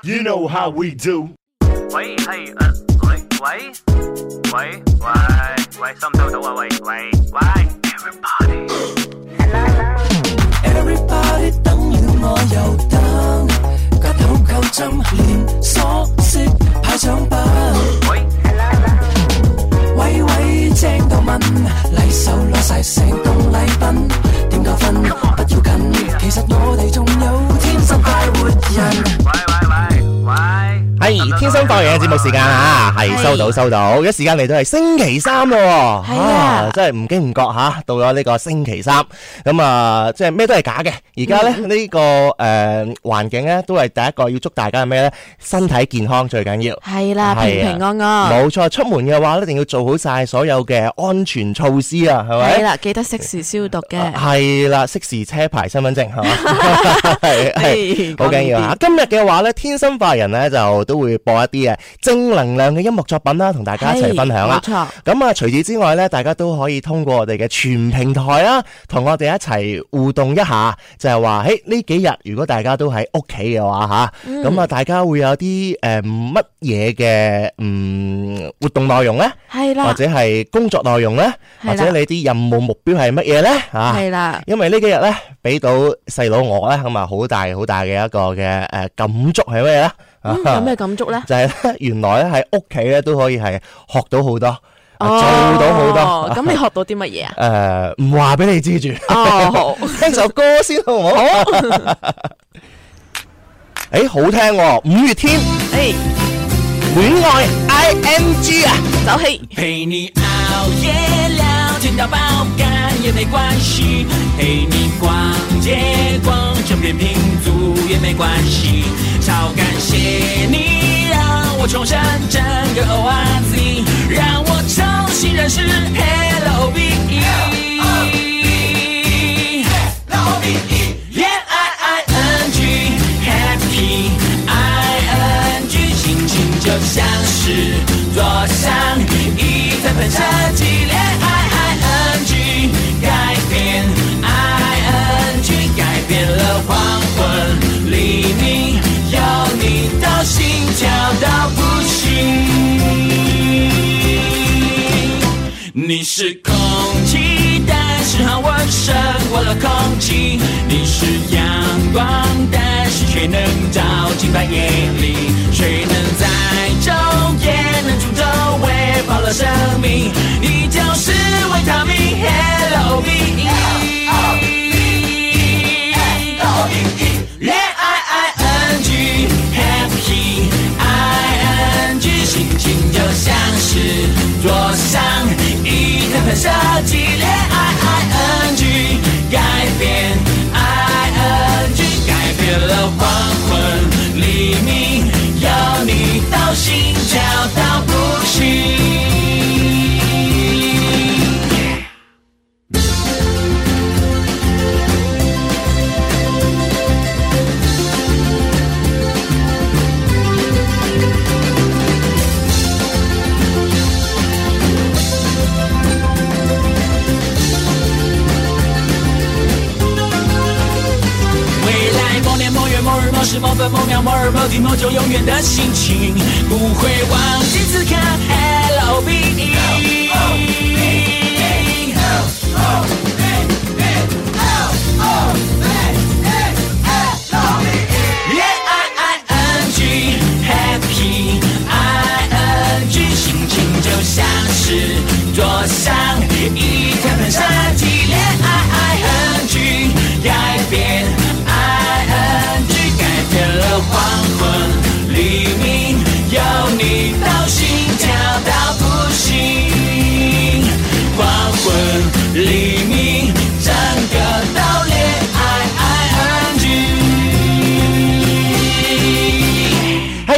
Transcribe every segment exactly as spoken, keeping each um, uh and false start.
You know how we do。 喂，係誒，喂喂喂喂喂，收唔收到啊？喂喂喂 ，Everybody，Everybody 等了我又等，夾好夠針，連鎖式派獎品。 喂， 喂喂，正到問，禮手攞晒成棟禮品，點夠分不要緊，其實我哋仲有天生快活人。 喂喂喂喂。 係天生快活人嘅節目時間啊，係收到收到，而家時間嚟到係星期三咯，係啊，真係唔經唔覺吓，到咗呢個星期三，咁啊，即係咩都係假嘅。而家咧呢個誒環境咧，都係第一個要祝大家係咩咧？身體健康最緊要， 係啦，平平安安。 冇錯，出門嘅話一定要做好晒所有嘅安全措施啊，係咪？ 係啦，記得適時消毒嘅。 係啦，適時車牌、身份證係嘛，係係好緊要啊！今日嘅話咧，天生快活人咧就都會播一啲嘅正能量嘅音樂作品啦，同大家一齊分享啦。冇錯。咁啊，除此之外咧，大家都可以通過我哋嘅全平台啦，同我哋一齊互動一下，就係話，喺呢幾日如果大家都喺屋企嘅話吓，咁、嗯、啊，大家會有啲誒乜嘢嘅嗯活動內容咧？係啦，或者係工作內容咧，或者你啲任務目標係乜嘢咧？啊，係啦，因為呢幾日咧，俾到細佬我咧，咁啊好大好大嘅一個嘅誒感觸係咩咧？ 嗯、有咩感觸咧？ 就係咧，原來咧喺屋企咧都可以係學到好多，哦、做到好多。 咁你學到啲乜嘢啊？ 誒，唔話俾你知住。哦，聽首歌先好唔好？好。誒，好聽喎，五月天。誒，戀愛 I N G 啊， 走氣。 陪你熬夜聊天到爆肝也沒關係，陪你逛街逛整片拼圖也沒關係，超感謝你讓我重生整個 O R Z， 讓我重新認識 Hello B E Hello B E Yeah I I N G Happy I N G 心情就像是坐上一台噴射機戀愛 I N G 改變 I N G 改變了黃昏黎明有你到心跳到不行，你是空氣但是很溫勝過了空氣，你是陽光但是卻能照進半夜裡，誰能在晝夜能出走餵飽了生命，你就是維他命 Hello B E Hello B E戀愛 I N G Happy I N G 心情就像是坐上一台噴射機戀愛 I N G 改變 I N G 改變了黃昏黎明有你到心跳到不行，某時某分某秒某日某地某久永遠的心情，不會忘記此刻 Hello B E Yeah I I N G Happy I N G 心情就像是坐上一台噴射機戀愛 I N G 改變黃昏黎明有你到心跳到不行，黃昏黎明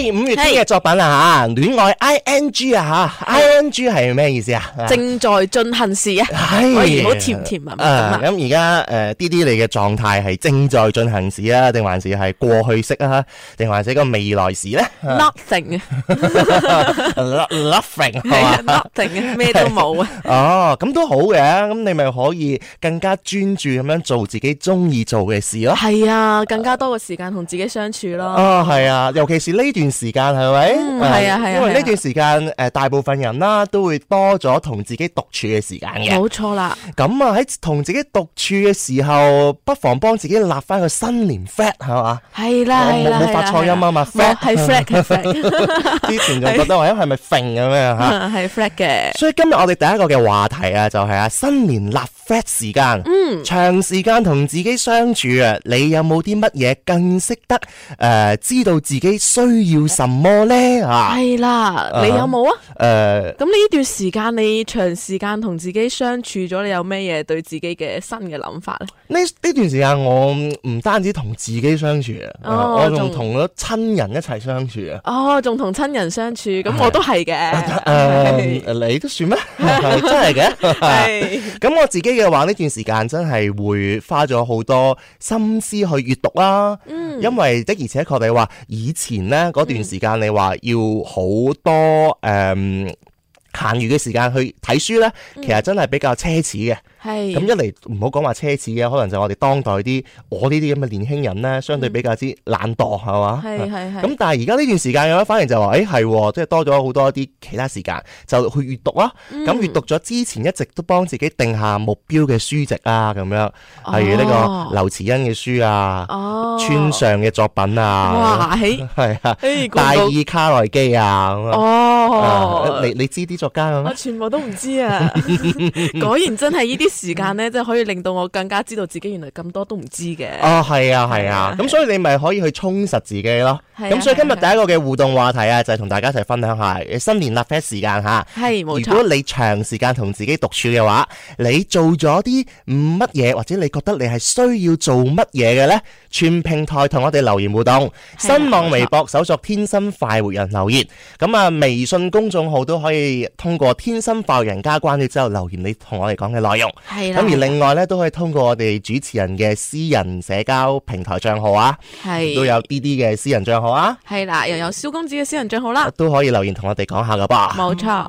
係五月天嘅作品啊吓，戀愛 I N G 啊吓 ，I N G 係咩意思啊？ 正在進行時啊， 係好甜甜蜜蜜啊。咁而家誒 D D 你嘅狀態係正在進行時啊，定還是係過去式啊，定還是個未來時咧 ？Nothing 啊 ，Nothing 係嘛 ？Nothing 啊，咩都冇啊。 哦，咁都好嘅，咁你咪可以更加專注咁樣做自己中意做嘅事咯。 係啊，更加多嘅時間同自己相處咯。 哦，係啊，尤其是呢段時間係咪？ 嗯，係啊，係啊。 因為呢段時間誒，大部分人啦都會多咗同自己獨處嘅時間嘅。 冇錯啦。 咁啊喺同自己獨處嘅時候，不妨幫自己立翻個新年 flag 係嘛？ 係啦，係啦， 冇發錯音啊嘛 ，flag 係 flag 係 flag。 之前仲覺得話，係咪揈咁樣吓？ 係 flag 嘅。 所以今日我哋第一個嘅話題啊，就係啊新年立 flag 時間。嗯，長時間同自己相處啊，你有冇啲乜嘢更識得誒知道自己需要什麼咧？啊， 係啦，你有冇啊？ 誒， 咁呢段時間你長時間同自己相處咗，你有咩嘢對自己嘅新嘅諗法咧？ 呢呢段時間我唔單止同自己相處啊， 哦、 我仲同咗親人一齊相處啊。 哦，仲同親人相處，咁我都係嘅。誒、 呃，你都算咩？真係嘅。係。咁我自己嘅話，呢段時間真係會花咗好多心思去閱讀啦。嗯。因為的而且確你話以前呢嗰段時間，你話要好多誒。嗯閒餘嘅時間去睇書咧，其實真係比較奢侈嘅。係咁一嚟唔好講話奢侈嘅，可能就我哋當代啲我呢啲咁嘅年輕人咧，相對比較之懶惰係嘛。係係係。咁但係而家呢段時間嘅話，反而就話誒係，即係多咗好多啲其他時間，就去閱讀啦。咁閱讀咗之前一直都幫自己定下目標嘅書籍啊，咁樣，例如呢個劉慈欣嘅書啊，村上嘅作品啊， 哇， 係啊，大爾卡內基啊，咁啊。哦，你你知啲作家我全部都唔知啊！果然真係呢啲時間咧，即係可以令到我更加知道自己原來咁多都唔知嘅。 哦，係啊，係啊，咁所以你咪可以去充實自己咯。咁所以今日第一個嘅互動話題啊，就係同大家一齊分享下新年立 flag 時間吓。係，冇錯。如果你長時間同自己獨處嘅話，你做咗啲乜嘢，或者你覺得你係需要做乜嘢嘅咧？全平台同我哋留言互動，新浪微博搜索天生快活人留言，咁啊微信公眾號都可以通過天生快活人加關注之後留言你同我哋講嘅內容。係啦。咁而另外咧都可以通過我哋主持人嘅私人社交平台賬號啊，係都有 D D 嘅私人賬號啊，係啦，又有蕭公子嘅私人賬號啦，都可以留言同我哋講下噶噃。冇錯。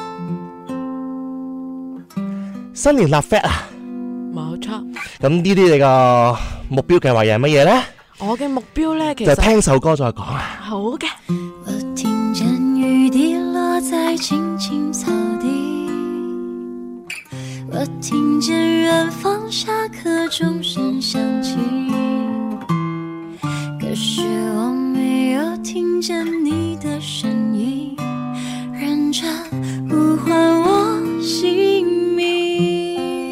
新年立 flag 啊，冇錯。咁呢啲你個目標計劃又係乜嘢咧？我嘅目標咧，其實就聽首歌再講啊。好嘅。我聽見雨滴落在青青草地，我聽見遠方下課鐘聲響起，可是我沒有聽見你的聲音，認真呼喚我姓名。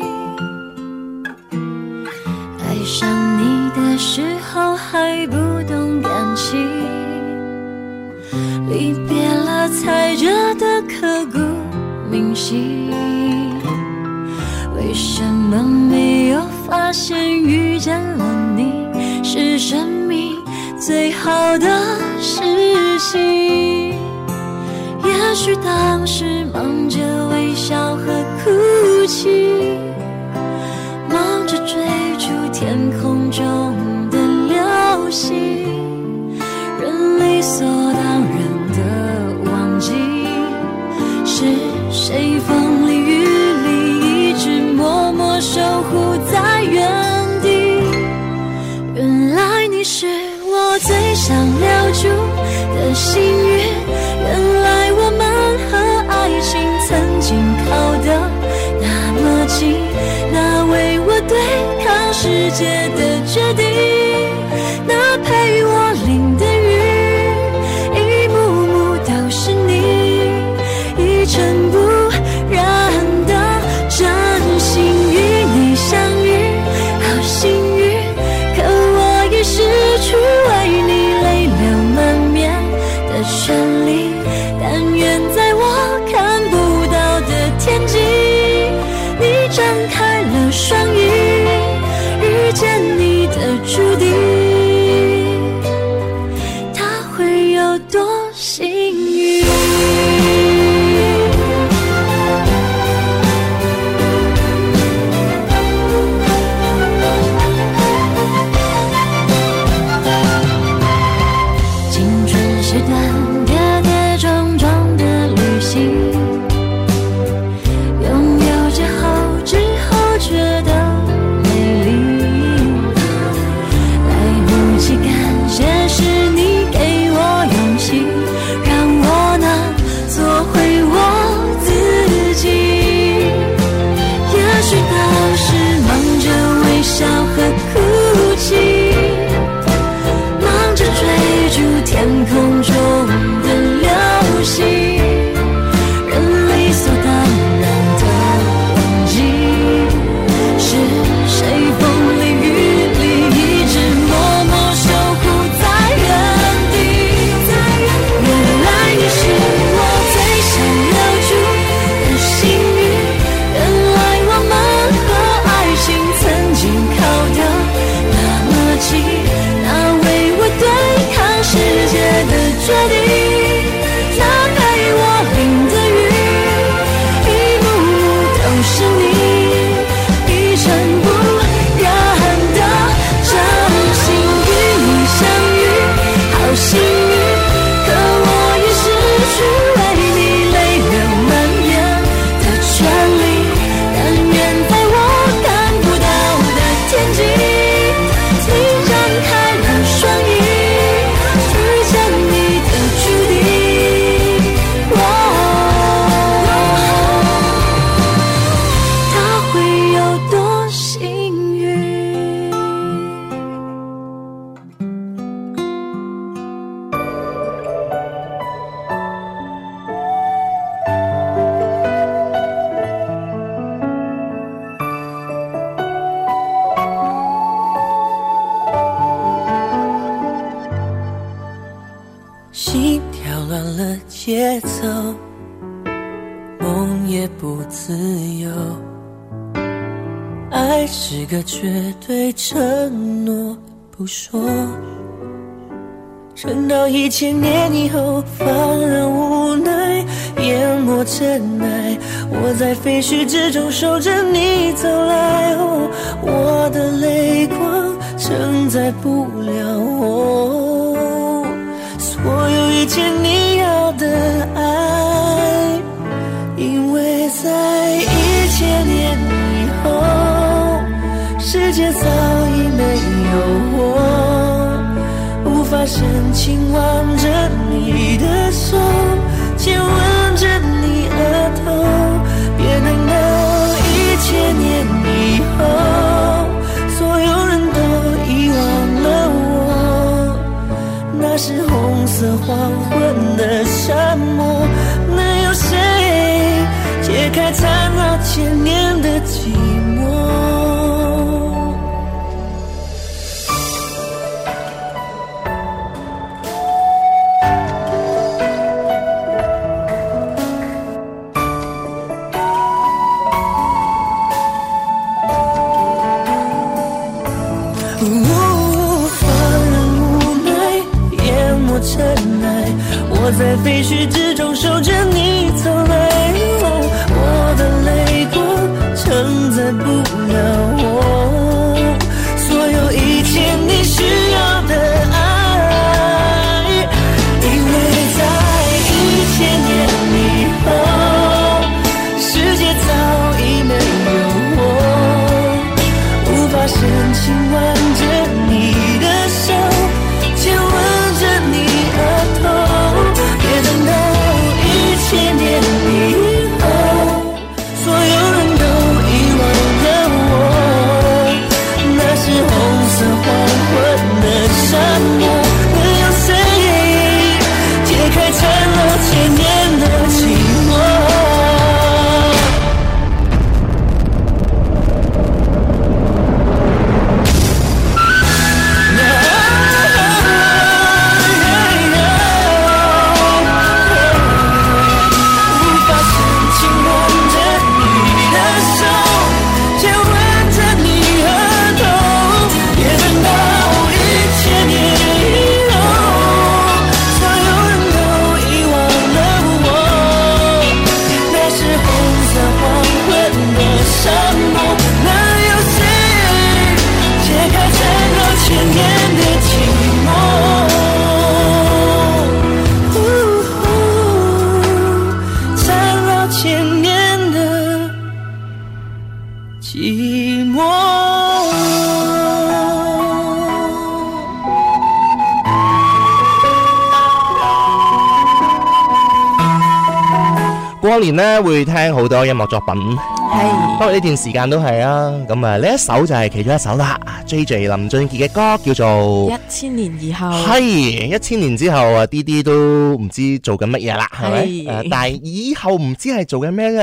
愛上你的時候還不懂感情，離別了才覺得刻骨銘心，為什麼沒有發現遇見了你是生命最好的事情？也許當時忙着微笑和哭泣，忙着追逐天空中的流星，人理所當然的忘記是誰風裡雨裡一直默默守護在原地。原來你是我最想留住的幸運，原來我們和愛情曾經靠得那麼近。 决定，那陪我淋的雨，一幕幕都是你，一尘不染的真心与你相遇，好幸运，可我已失去为你泪流满面的权利，但愿在我看不到的天际，请张开了双翼，遇见你的注定。哦，他会有多幸运？心跳乱了节奏，梦也不自由，爱是个绝对承诺不说，撑到一千年以后，放任无奈淹没尘埃，我在废墟之中守着你走来，哦，我的泪光承载不了我所有一切你要的爱，因为在一千年以后，世界早已没有我，无法深情挽着你的手，亲吻着你额头，别等到一千年以后，所有人都遗忘了我，那是红色黄昏的沙漠，能有谁解开缠绕千年的寂寞？我在废墟之中守着你走来，哦，我的泪光承载不了我所有一切你需要的爱，因为在一千年以后，世界早已没有我，无法深情挽着你的手，亲吻着你额头，别等到一千年以后，所有人都遗忘了我，那是红色黄昏的沙漠，能有谁解开缠绕千年的寂寞？ 過年咧會聽好多音樂作品，係，不過呢段時間都係啊。咁啊，呢一首就係其中一首啦。J J 林俊傑嘅歌叫做《 一千年以後》， 係一千年之後啊，啲啲都唔知做緊乜嘢啦，係咪？誒，但係以後唔知係做緊咩嘅。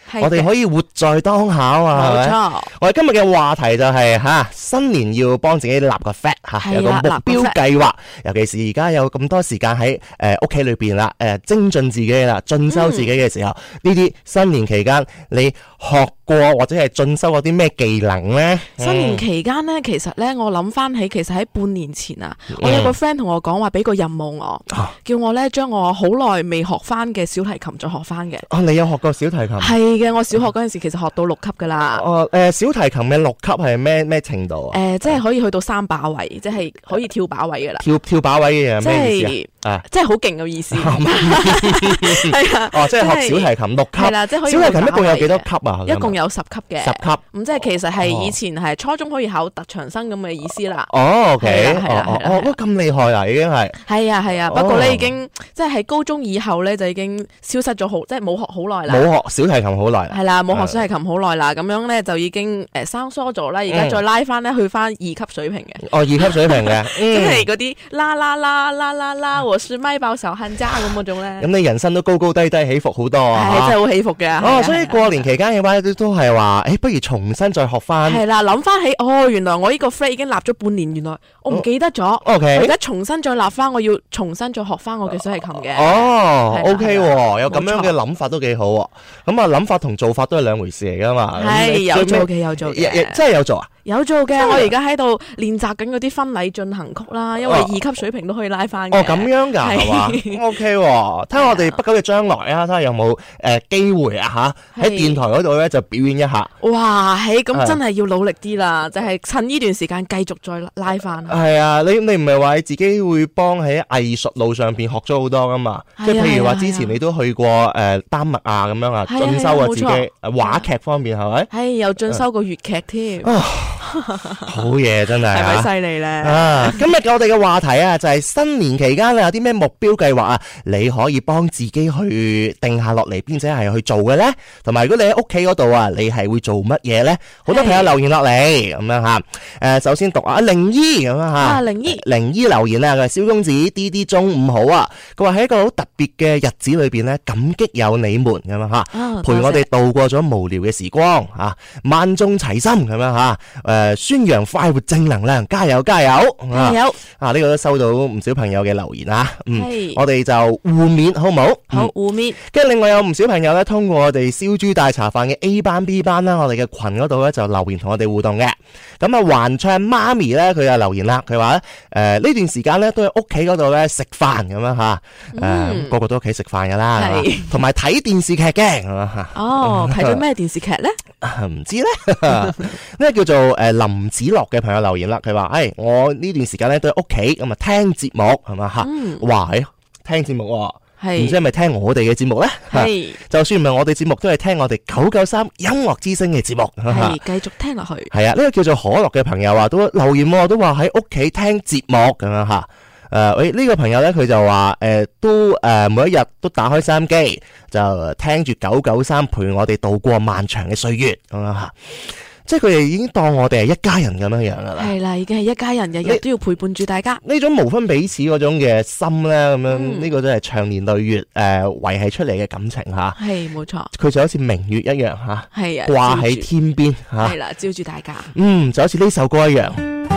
我哋可以活在當下啊嘛，係咪？冇錯。我哋今日嘅話題就係、是、吓新年要幫自己立個 flag 吓，有個目標計劃。尤其是而家有咁多時間喺誒屋企裏邊啦，誒、呃、精進自己啦，進修自己嘅時候，呢啲、嗯、新年期間你學過或者係進修過啲咩技能咧？ 新年期間咧，其實咧我諗翻起，其實喺半年前啊，嗯、我有個 friend 同我講話俾個任務我，啊、叫我咧將我好耐未學翻嘅小提琴再學翻嘅。 哦，你有學過小提琴？ 係嘅，我小學嗰陣時其實學到六級噶啦。 哦，誒、呃，小提琴嘅六級係咩咩程度啊？誒、 呃，即係可以去到三把位，即係可以跳把位噶啦。 跳跳把位嘅嘢咩意思啊？啊， 即係好勁嘅意思。係啊。 哦，即係學小提琴六級。係啦，即係可以。小提琴一共有幾多級啊？ 一共有十級嘅。 十級。 咁即係其實係以前係初中可以考特長生咁嘅意思啦。 哦 ，OK。係啦，係啦。哦，咁厲害啊，已經係。係啊，係啊。不過咧，已經即係喺高中以後咧，就已經消失咗好，即係冇學好耐啦。 冇學小提琴好耐。 係啦，冇學小提琴好耐啦。咁樣咧就已經誒生疏咗啦。而家再拉翻咧，去翻二級水平嘅。 哦，二級水平嘅。 即係嗰啲啦啦啦啦啦啦，我是麥爆手恨家咁嗰種咧。 咁你人生都高高低低起伏好多啊！ 係真係好起伏嘅。 哦，所以過年期間嘅話都都係話，誒，不如重新再學翻。 係啦，諗翻起，哦，原來我呢個 friend 已經立咗半年，原來我唔記得咗。O K。我而家重新再立翻，我要重新再學翻我嘅小提琴嘅。 哦 ，O K，有咁樣嘅諗法都幾好。咁啊，諗法同做法都係兩回事嚟噶嘛。 係有做嘅，有做嘅， 真係有做啊！ 有做嘅，我而家喺度練習緊嗰啲婚禮進行曲啦，因為二級水平都可以拉翻嘅。 哦，咁樣噶係嘛？O K，睇下我哋不久嘅將來啊，睇下有冇誒機會啊吓喺電台嗰度咧就表演一下。 哇，係咁真係要努力啲啦，就係趁呢段時間繼續再拉翻。 係啊，你你唔係話你自己會幫喺藝術路上邊學咗好多噶嘛？即係譬如話之前你都去過誒丹麥啊咁樣啊，進修過自己話劇方面係咪？ 係有進修過粵劇添。 好嘢，真係， 係咪犀利咧？ 啊，今日我哋嘅話題啊，就係新年期間有啲咩目標計劃啊，你可以幫自己去定下落嚟，並且係去做嘅咧。同埋，如果你喺屋企嗰度啊，你係會做乜嘢咧？好多朋友留言落嚟咁樣吓。誒，首先讀啊，靈姨咁樣吓。啊， 靈姨， 靈姨留言啊，佢係蕭公子 D D 中午好啊。佢話喺一個好特別嘅日子裏邊咧，感激有你們咁樣吓，陪我哋度過咗無聊嘅時光啊，萬眾齊心咁樣吓。誒，宣揚快活正能量，加油加油！ 加油！ 啊，呢、這個都收到唔少朋友嘅留言啊。嗯， 是我哋就互勉好唔好？ 好互勉。 跟住另外有唔少朋友咧，通過我哋燒豬大茶飯嘅 A 班 B 班啦，我哋嘅群嗰度咧就留言同我哋互動嘅。咁啊，還唱媽咪咧，佢就留言啦，佢話咧，誒、呃、呢段時間咧都喺屋企嗰度咧食飯咁樣吓，誒、呃嗯、個個都屋企食飯噶啦，同埋睇電視劇嘅，係嘛吓？ 哦，睇咗咩電視劇咧？ 唔知咧，呢個叫做誒、呃、林子樂嘅朋友留言啦，佢話誒我呢段時間咧都喺屋企咁啊聽節目係嘛吓，哇誒聽節目，唔知係咪聽我哋嘅節目咧？係，就算唔係我哋節目，都係聽我哋九九三音樂之聲嘅節目， 係繼續聽落去。 係啊，呢個叫做可樂嘅朋友啊，都留言，都話喺屋企聽節目咁樣吓。誒，喂，呢個朋友咧，佢就話誒，都誒每一日都打開收音機，就聽住九九三陪我哋度過漫長嘅歲月咁樣吓。即係佢哋已經當我哋係一家人咁樣樣噶啦， 係啦，已經係一家人，日日都要陪伴住大家。 呢種無分彼此嗰種嘅心咧，咁樣呢、嗯、個都係長年累月誒維繫出嚟嘅感情吓。係，冇錯。佢就好似明月一樣吓，係啊，掛喺天邊吓，係啦，照住大家。嗯，就好似呢首歌一樣。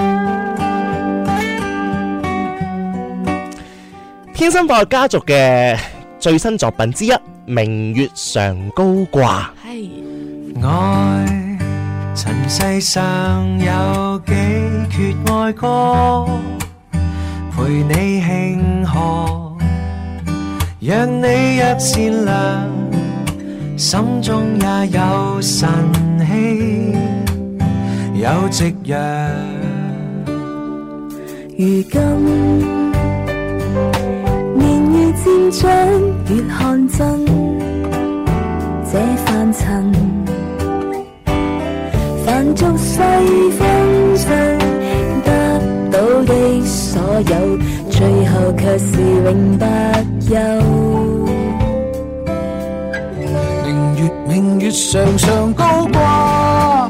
天生快活家族嘅最新作品之一《明月常高掛》。係愛。塵世上有幾闕愛歌，陪你慶賀，讓你若善良，心中也有晨曦，有夕陽。如今年月漸長，越看真這凡塵。凡俗世風塵得到的所有，最後卻是永不休。明月明月常常高掛，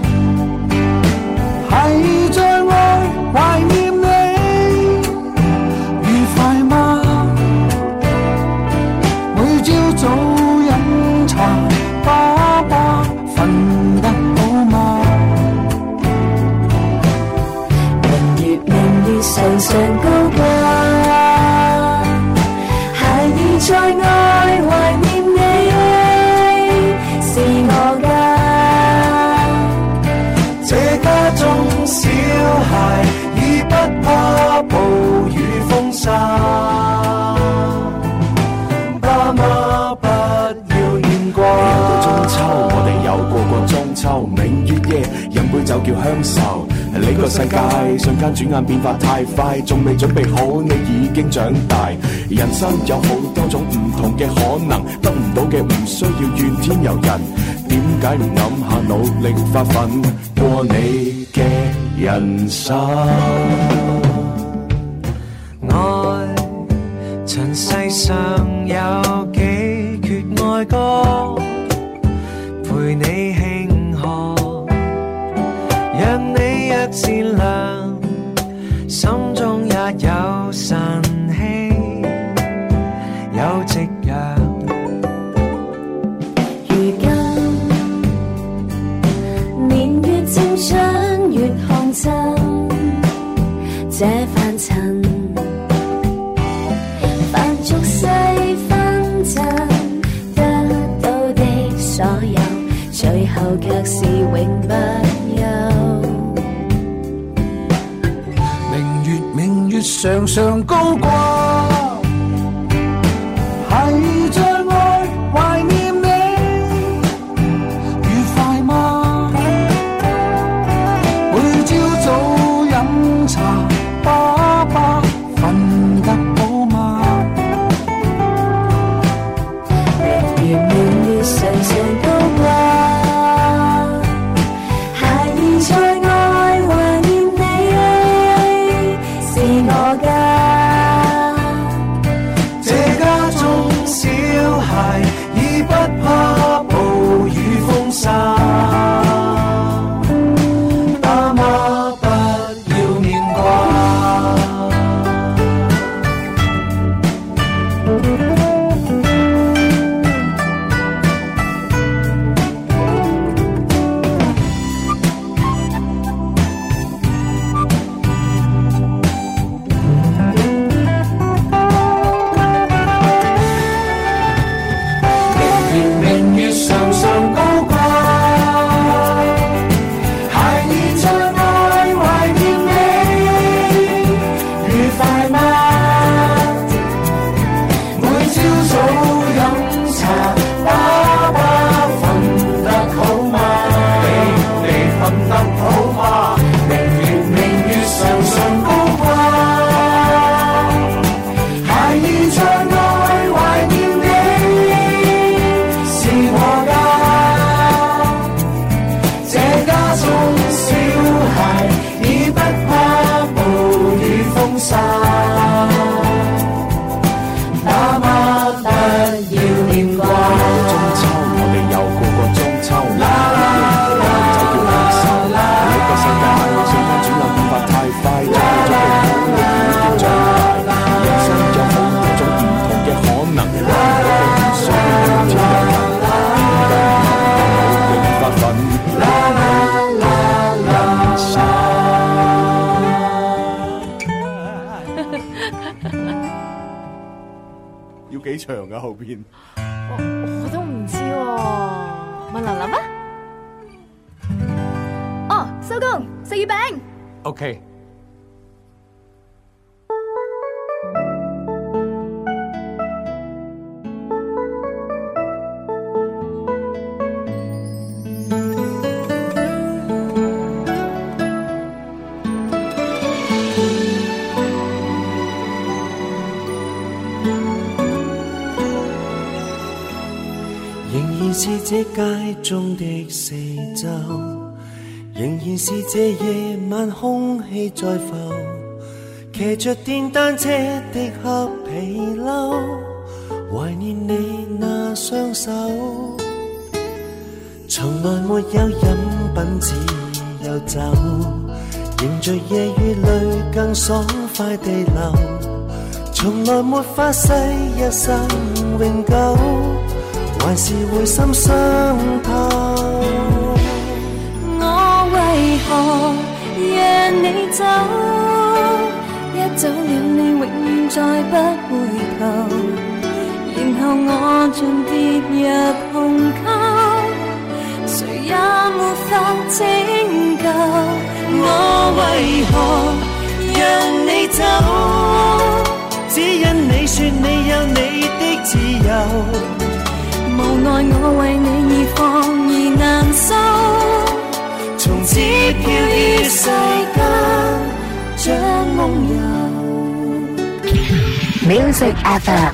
係在愛懷念你，愉快嗎？每朝早飲茶，爸爸上高掛，孩兒在愛懷念你，是我家。 這家中小孩已不怕暴雨風沙，爸媽不要牽掛。每到中秋，我哋有過過中秋，明月夜飲杯酒叫鄉愁。呢個世界瞬間轉眼變化太快，仲未準備好，你已經長大。人生有好多種唔同嘅可能，得唔到嘅唔需要怨天尤人。點解唔諗下努力發奮過你嘅人生？愛塵世上有幾闕愛歌，陪你慶賀，讓你若善良，心中也有晨曦，有夕陽。 如今年月漸將月看真，這凡塵凡俗世紛爭，得到的所有，最後卻是永不休。 明月明月常常高掛，孩兒在愛懷念你，愉快嗎？每朝早飲茶，爸爸瞓得好嗎？ 明月明月常常高掛，孩兒在愛懷念你，是我家。 這家中小孩已不怕暴雨風沙，爸媽不要念掛。明月常常高掛，孩兒在愛懷念你，愉快嗎？每朝早飲茶，爸爸瞓得好嗎？你你瞓得好嗎？明月明月常常高掛，孩兒在愛懷念你，是我家。這家中小孩已不怕暴雨風沙，爸媽不要念掛。中秋我哋又過過中秋，啦啦啦就叫鄉愁。呢個世界瞬間轉眼變化太快，仲未準備好，你已經長大。人生有好多種唔同嘅可能，得唔到嘅唔需要怨天尤人。點解唔努力發奮？啦啦啦人生。要幾長啊後邊？ 我都唔知喎，問琳琳啊。哦，收工食月餅。 OK。 仍然是這街中的四周，仍然是這夜晚空氣在浮，騎着電單車的黑皮褸，懷念你那雙手。從來沒有飲品只有酒，迎着夜雨淚更爽快地流，從來沒發誓一生永久，還是會心傷透。 我為何讓你走？一走了你永遠再不回頭，然後我盡跌入鴻溝，誰也沒法拯救。我為何讓你走？只因你說你有你的自由，無奈我為你而放而難收，從此飄於世間像夢遊。 Music F M。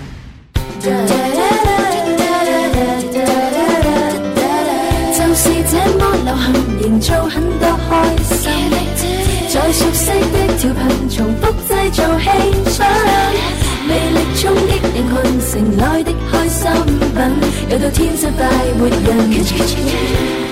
就是這麼流行，營造很多開心，在熟悉的調頻重複製造氣氛，魅力衝擊人群，城內的開心品，有到天生快活人。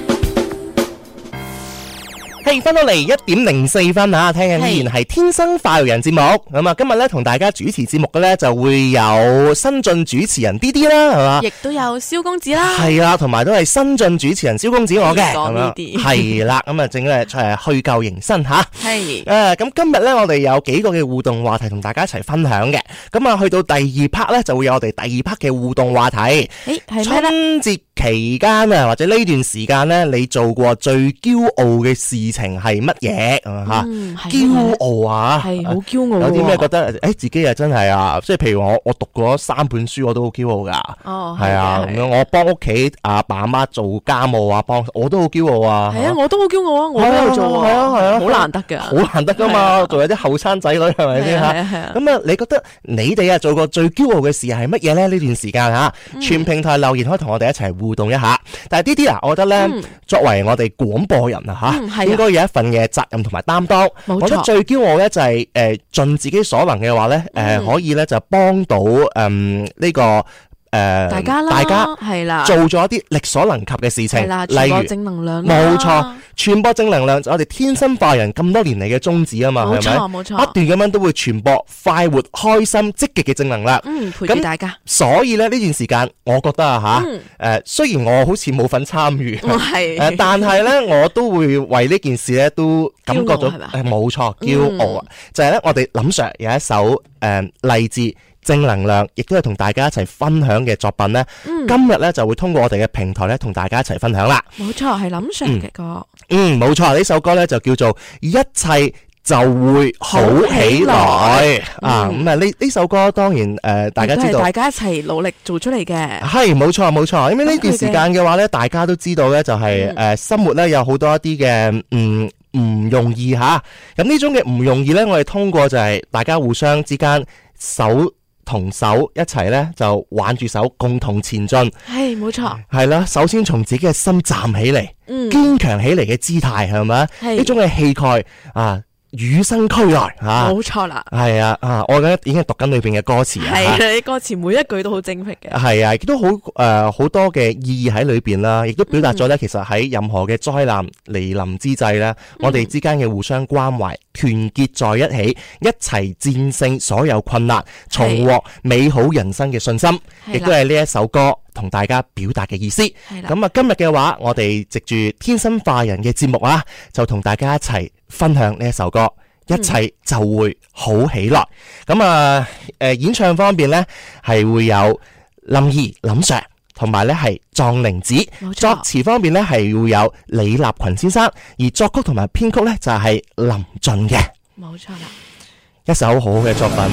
係翻到嚟一點零四分啊！聽緊依然係天生快活人節目咁啊！今日咧同大家主持節目嘅咧就會有新晉主持人 D D 啦，係嘛？ 亦都有蕭公子啦， 係啦，同埋都係新晉主持人蕭公子我嘅咁樣， 係啦，咁啊正係誒去舊迎新吓， 係誒咁今日咧我哋有幾個嘅互動話題同大家一齊分享嘅，咁啊去到第二 part 咧就會有我哋第二 part 嘅互動話題，誒係咩咧？ 春節期間啊，或者呢段時間咧，你做過最驕傲嘅事情係乜嘢啊？吓，驕傲啊， 係好驕傲。 有啲咩覺得誒自己啊真係啊，即係譬如我我讀過三本書，我都好驕傲噶。 哦， 係啊，咁樣我幫屋企阿爸阿媽做家務啊，幫我都好驕傲啊。 係啊，我都好驕傲啊，我都有做啊， 係啊係啊， 好難得噶， 好難得噶嘛，做有啲後生仔女係咪先吓？ 係啊係啊。 咁啊，你覺得你哋啊做過最驕傲嘅事係乜嘢咧？呢段時間吓，全平台留言可以同我哋一齊互動一下。但係呢啲啊，我覺得咧，作為我哋廣播人啊吓，應該有一份嘅責任同埋擔當。我覺得最驕傲咧就係誒盡自己所能嘅話咧，誒可以咧就幫到誒呢個。誒，大家啦，大家係啦，做咗一啲力所能及嘅事情， 係啦，傳播正能量， 冇錯，傳播正能量就我哋天生快人咁多年嚟嘅宗旨啊嘛，係咪？冇錯，冇錯，不斷咁樣都會傳播快活、開心、積極嘅正能量， 嗯，陪住大家。 所以咧呢段時間，我覺得啊吓，誒，雖然我好似冇份參與， 係， 誒，但係咧我都會為呢件事咧都感覺到，誒，冇錯，驕傲啊！就係咧，我哋林 Sir 有一首誒勵志。正能量，亦都係同大家一齊分享嘅作品呢、嗯、今日呢就會通過我哋嘅平台呢同大家一齊分享啦。 冇錯，係林 Sir 嘅歌。 嗯，冇錯，呢首歌呢就叫做一切就會好起來、嗯、啊！咁啊呢呢首歌當然誒、呃，大家知道， 大家一齊努力做出嚟嘅。係冇錯冇錯，因為呢段時間嘅話呢，大家都知道呢就係、是、誒、嗯呃、生活呢有好多一啲嘅嗯唔容易吓。咁呢種嘅唔容易呢，我哋通過就係大家互相之間手同手一齊咧，就挽住手，共同前進。 係冇錯， 係啦。首先從自己嘅心站起嚟，嗯，堅強起嚟嘅姿態係咪？呢種嘅氣概啊，與生俱來吓。冇錯啦。 係啊啊！我覺得已經係讀緊裏邊嘅歌詞啊。 係啊，啲歌詞每一句都好精闢嘅。 係啊，亦都好誒好多嘅意義喺裏邊啦，亦都表達咗咧。嗯、其實喺任何嘅災難嚟臨之際咧，嗯、我哋之間嘅互相關懷。團結在一起，一齊戰勝所有困難，重獲美好人生嘅信心，亦都係呢一首歌同大家表達嘅意思。咁啊，今日嘅話，我哋藉住天生化人嘅節目啊，就同大家一齊分享呢一首歌，一切就會好起來。咁、嗯、啊，誒，演唱方面呢，係會有林怡、林 Sir。同埋咧係壯玲子，作詞方面咧係會有李立群先生，而作曲同埋編曲咧就係林俊嘅， 冇錯啦， 一首好好嘅作品。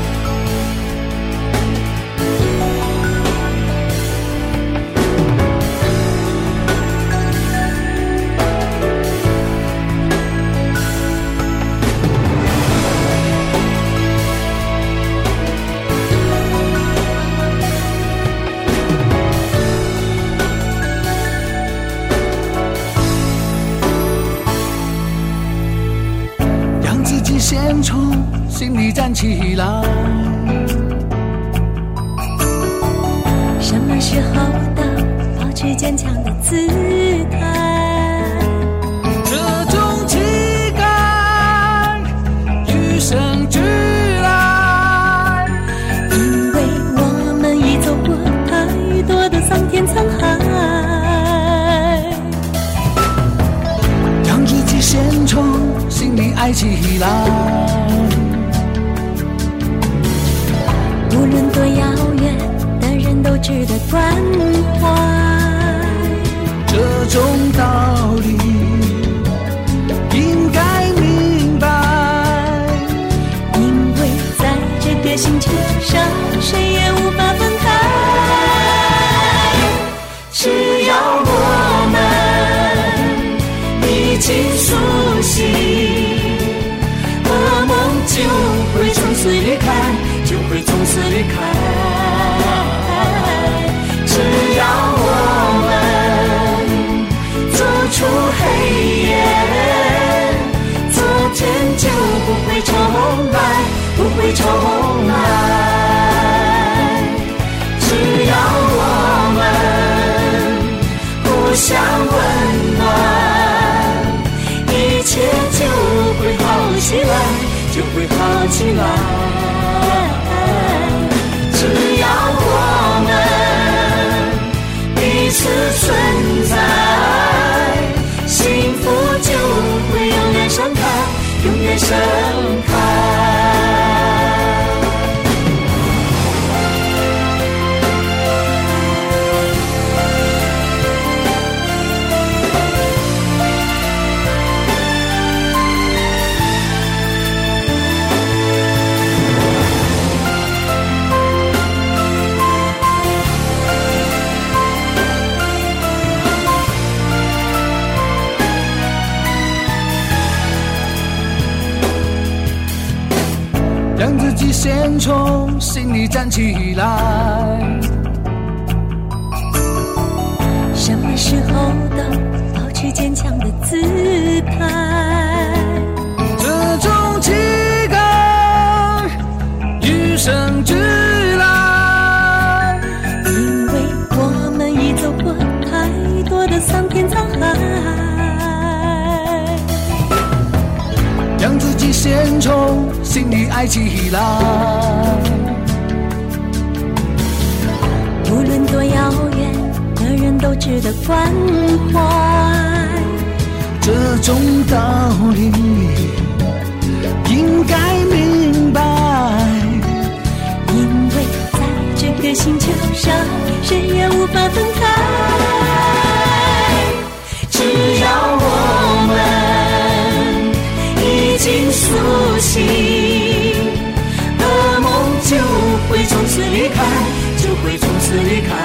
先从心里站起来， 什么时候的保持坚强的姿态， 这种气概与生俱来， 因为我们已走过太多的桑田沧海， 让自己先从心里爱起来， 值得关怀。 这种道理应该明白， 因为在这个星球上，谁也无法分开。只要我们一起苏醒，噩梦就会从此离开，就会从此离开。只要我们走出黑夜，昨天就不会重来，不会重来。只要我们互相温暖，一切就会好起来，就会好起来。只要我们彼此存在，幸福就会永远盛开，永远盛开。 让自己先从心里站起来。 什么时候都保持坚强的姿态， 这种情感与生俱来， 因为我们已走过太多的桑田沧海。 让自己先从心里爱起来， 无论多遥远的人都值得关怀。 这种道理应该明白， 因为在这个星球上，谁也无法分开。只要我们已经苏醒，噩梦就会从此离开，就会从此离开。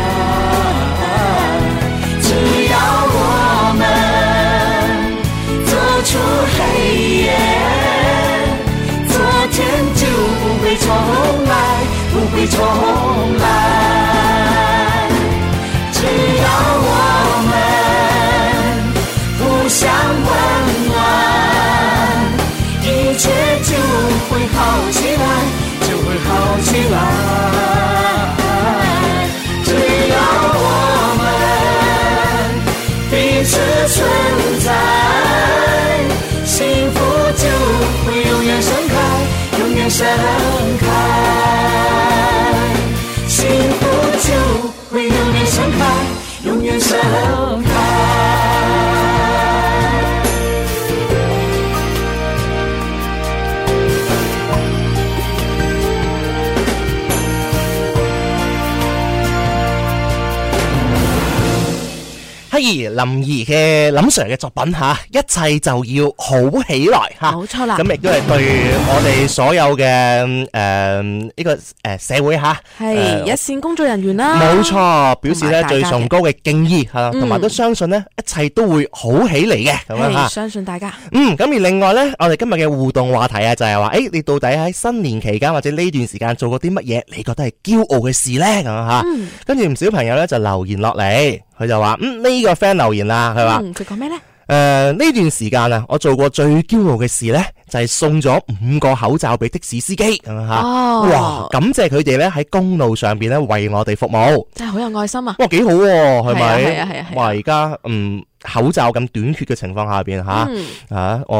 只要我们走出黑夜，昨天就不会重来，不会重来。只要我们互相温暖，一切就会好起来，就会好起来。只要我们彼此存在，幸福就会永远盛开，永远盛开。幸福就会永远盛开，永远盛开。 嘿，林怡嘅林 Sir 嘅作品吓，一切就要好起來吓， 冇錯啦。 咁亦都係對我哋所有嘅誒呢個誒社會吓， 係一線工作人員啦， 冇錯，表示咧最崇高嘅敬意吓，同埋都相信咧一切都會好起嚟嘅咁樣吓， 相信大家。 嗯，咁而另外咧，我哋今日嘅互動話題啊，就係話，誒，你到底喺新年期間或者呢段時間做過啲乜嘢？你覺得係驕傲嘅事咧？咁樣吓，跟住唔少朋友咧就留言落嚟。佢就話嗯呢、這個 friend 留言啦，佢話佢講咩咧？誒呢、 呃、段時間啊，我做過最驕傲嘅事咧，就係、是、送咗五個口罩俾的士司機咁樣吓。哦，哇！感謝佢哋咧喺公路上邊咧為我哋服務， 真係好有愛心啊！ 哇，幾好喎，係咪？ 係啊係啊係啊！ 哇，而家嗯口罩咁短缺嘅情況下邊吓，嗯、啊我。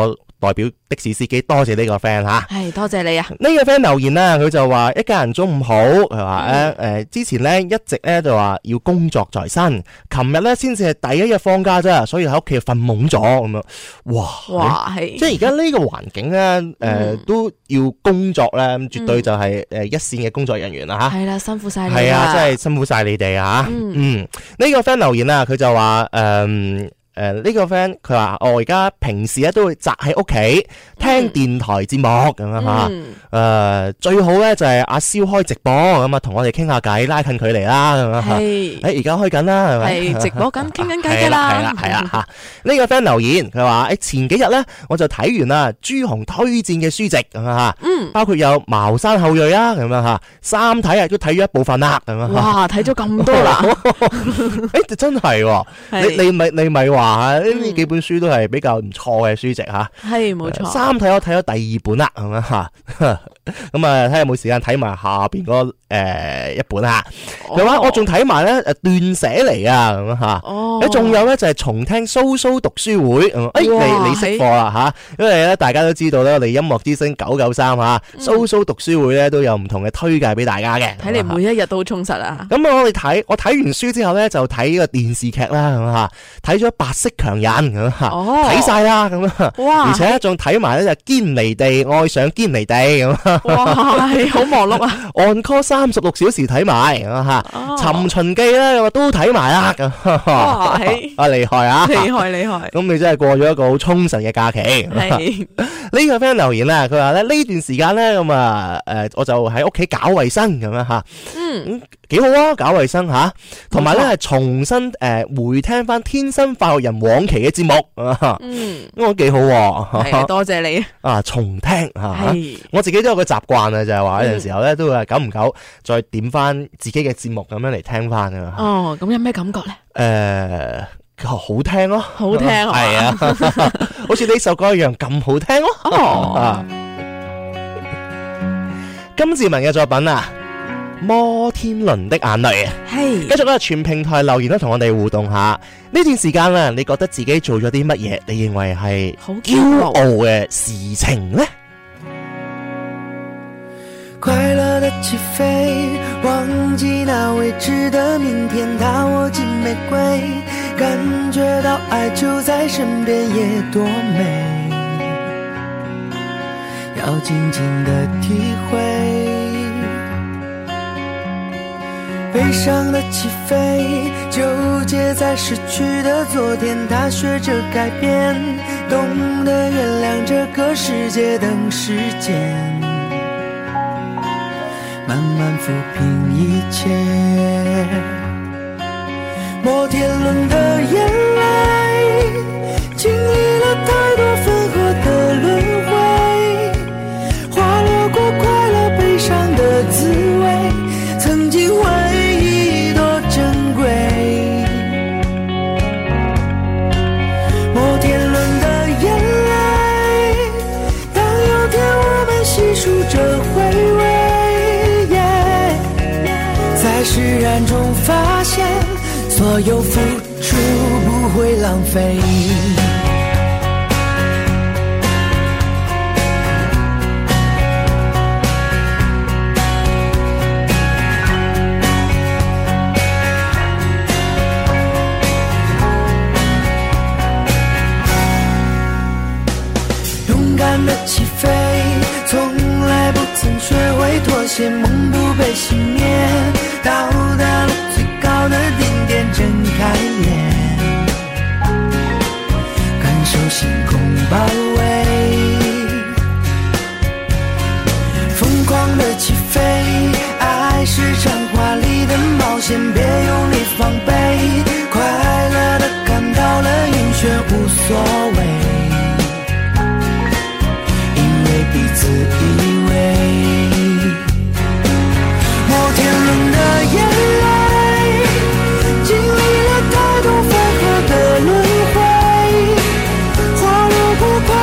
代表的士司機多謝呢個 friend 吓， 係多謝你啊！ 呢個 friend 留言啦，佢就話一家人中午好，佢話咧誒之前咧一直咧就話要工作在身，琴日咧先至係第一日放假啫，所以喺屋企瞓懵咗咁樣，哇哇係， 即係而家呢個環境咧誒、呃、都要工作咧，絕對就係誒一線嘅工作人員啦吓，係啦，辛苦晒你，係啊，真係辛苦晒你哋啊，嗯，嗯，呢、這個 friend 留言啊，佢就話誒。呃誒、呃，呢、這個 friend 佢話我而家平時咧都會宅喺屋企聽電台節目咁樣吓，誒最好咧就係阿蕭開直播咁啊，同我哋傾下偈，拉近距離啦咁樣吓。係，誒而家開緊啦係咪？係直播緊，傾緊偈噶啦。係啦係啦吓。呢個 friend 留言佢話誒前幾日咧我就睇完啦朱紅推薦嘅書籍咁樣吓，嗯，包括有《茅山後裔》啊咁樣吓，三體啊都睇咗一部分啦咁樣。哇，睇咗咁多啦！誒真係，你你咪你咪話。啊！呢幾本書都係比較唔錯嘅書籍吓，係冇錯。三體我睇咗第二本啦，咁樣吓，咁啊睇下有冇時間睇埋下邊嗰誒一本吓。佢話我仲睇埋咧誒斷捨離啊，咁樣吓。哦，誒仲有咧就係重聽蘇蘇讀書會，誒你你識貨啦吓，因為咧大家都知道咧我哋音樂之聲九九三吓，蘇蘇讀書會咧都有唔同嘅推介俾大家嘅。睇嚟每一日都好充實啊！咁我哋睇我睇完書之後咧就睇呢個電視劇啦，咁吓睇咗白色強人咁吓，睇晒啦咁啊，哇！而且仲睇埋咧就堅尼地愛上堅尼地咁，哇！好忙碌啊！On call 三十六小時睇埋咁吓，尋秦記咧都睇埋啦咁，哇！啊厲害啊！厲害厲害！咁你真係過咗一個好充實嘅假期。係呢個 friend 留言啦，佢話咧呢段時間咧咁啊誒，我就喺屋企搞衛生咁樣吓，嗯，幾好啊！搞衛生吓，同埋咧係重新誒回聽翻天生快活人往期嘅節目，嗯，咁我幾好，係多謝你啊！重聽吓，我自己都有個習慣啊，就係話有陣時候咧都會久唔久再點翻自己嘅節目咁樣嚟聽翻啊。哦，咁有咩感覺咧？誒，好聽咯，好聽係啊，好似呢首歌一樣咁好聽咯。哦，金志文嘅作品啊，摩天輪的眼淚啊，係繼續咧全平台留言都同我哋互動下。呢段時間啊，你覺得自己做咗啲乜嘢？你認為係好驕傲嘅事情呢？ 快樂的起飛，忘記那未知的明天，它握緊玫瑰，感覺到愛就在身邊，也多美，要靜靜的體會。悲傷的起飛，糾結在失去的昨天，他學着改變，懂得原諒這個世界等時間，慢慢撫平一切。摩天輪的眼淚，經歷了太多分合的輪迴，滑落過快樂悲傷的滋味，曾經回憶多珍貴。摩天輪的眼淚，當有天我們細數着回味，在釋然中發現所有付出不會浪費。勇敢的起飛，從來不曾學會妥協，夢不被熄滅，到達了最高的頂點，睜開眼，感受星空包圍。瘋狂的起飛，愛是場華麗的冒險，別用力防備，快樂的看到了暈眩無所謂，因為彼此依偎。摩天輪的眼淚，經歷了太多分合的輪迴，滑落過快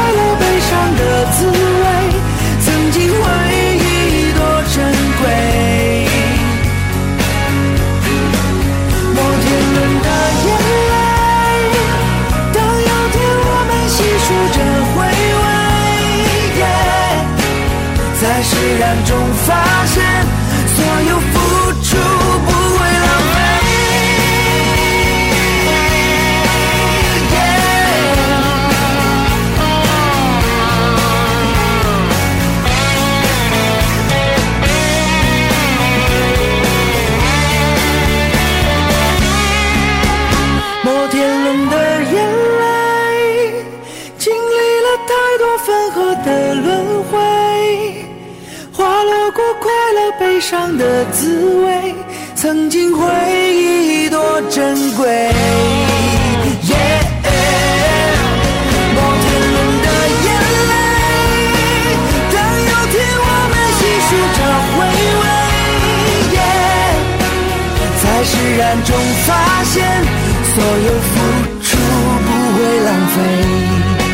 上的滋味，曾经回忆多珍贵。Yeah， 摩天轮的眼泪，当有天我们细数着回味， yeah， 在释然中发现，所有付出不会浪费。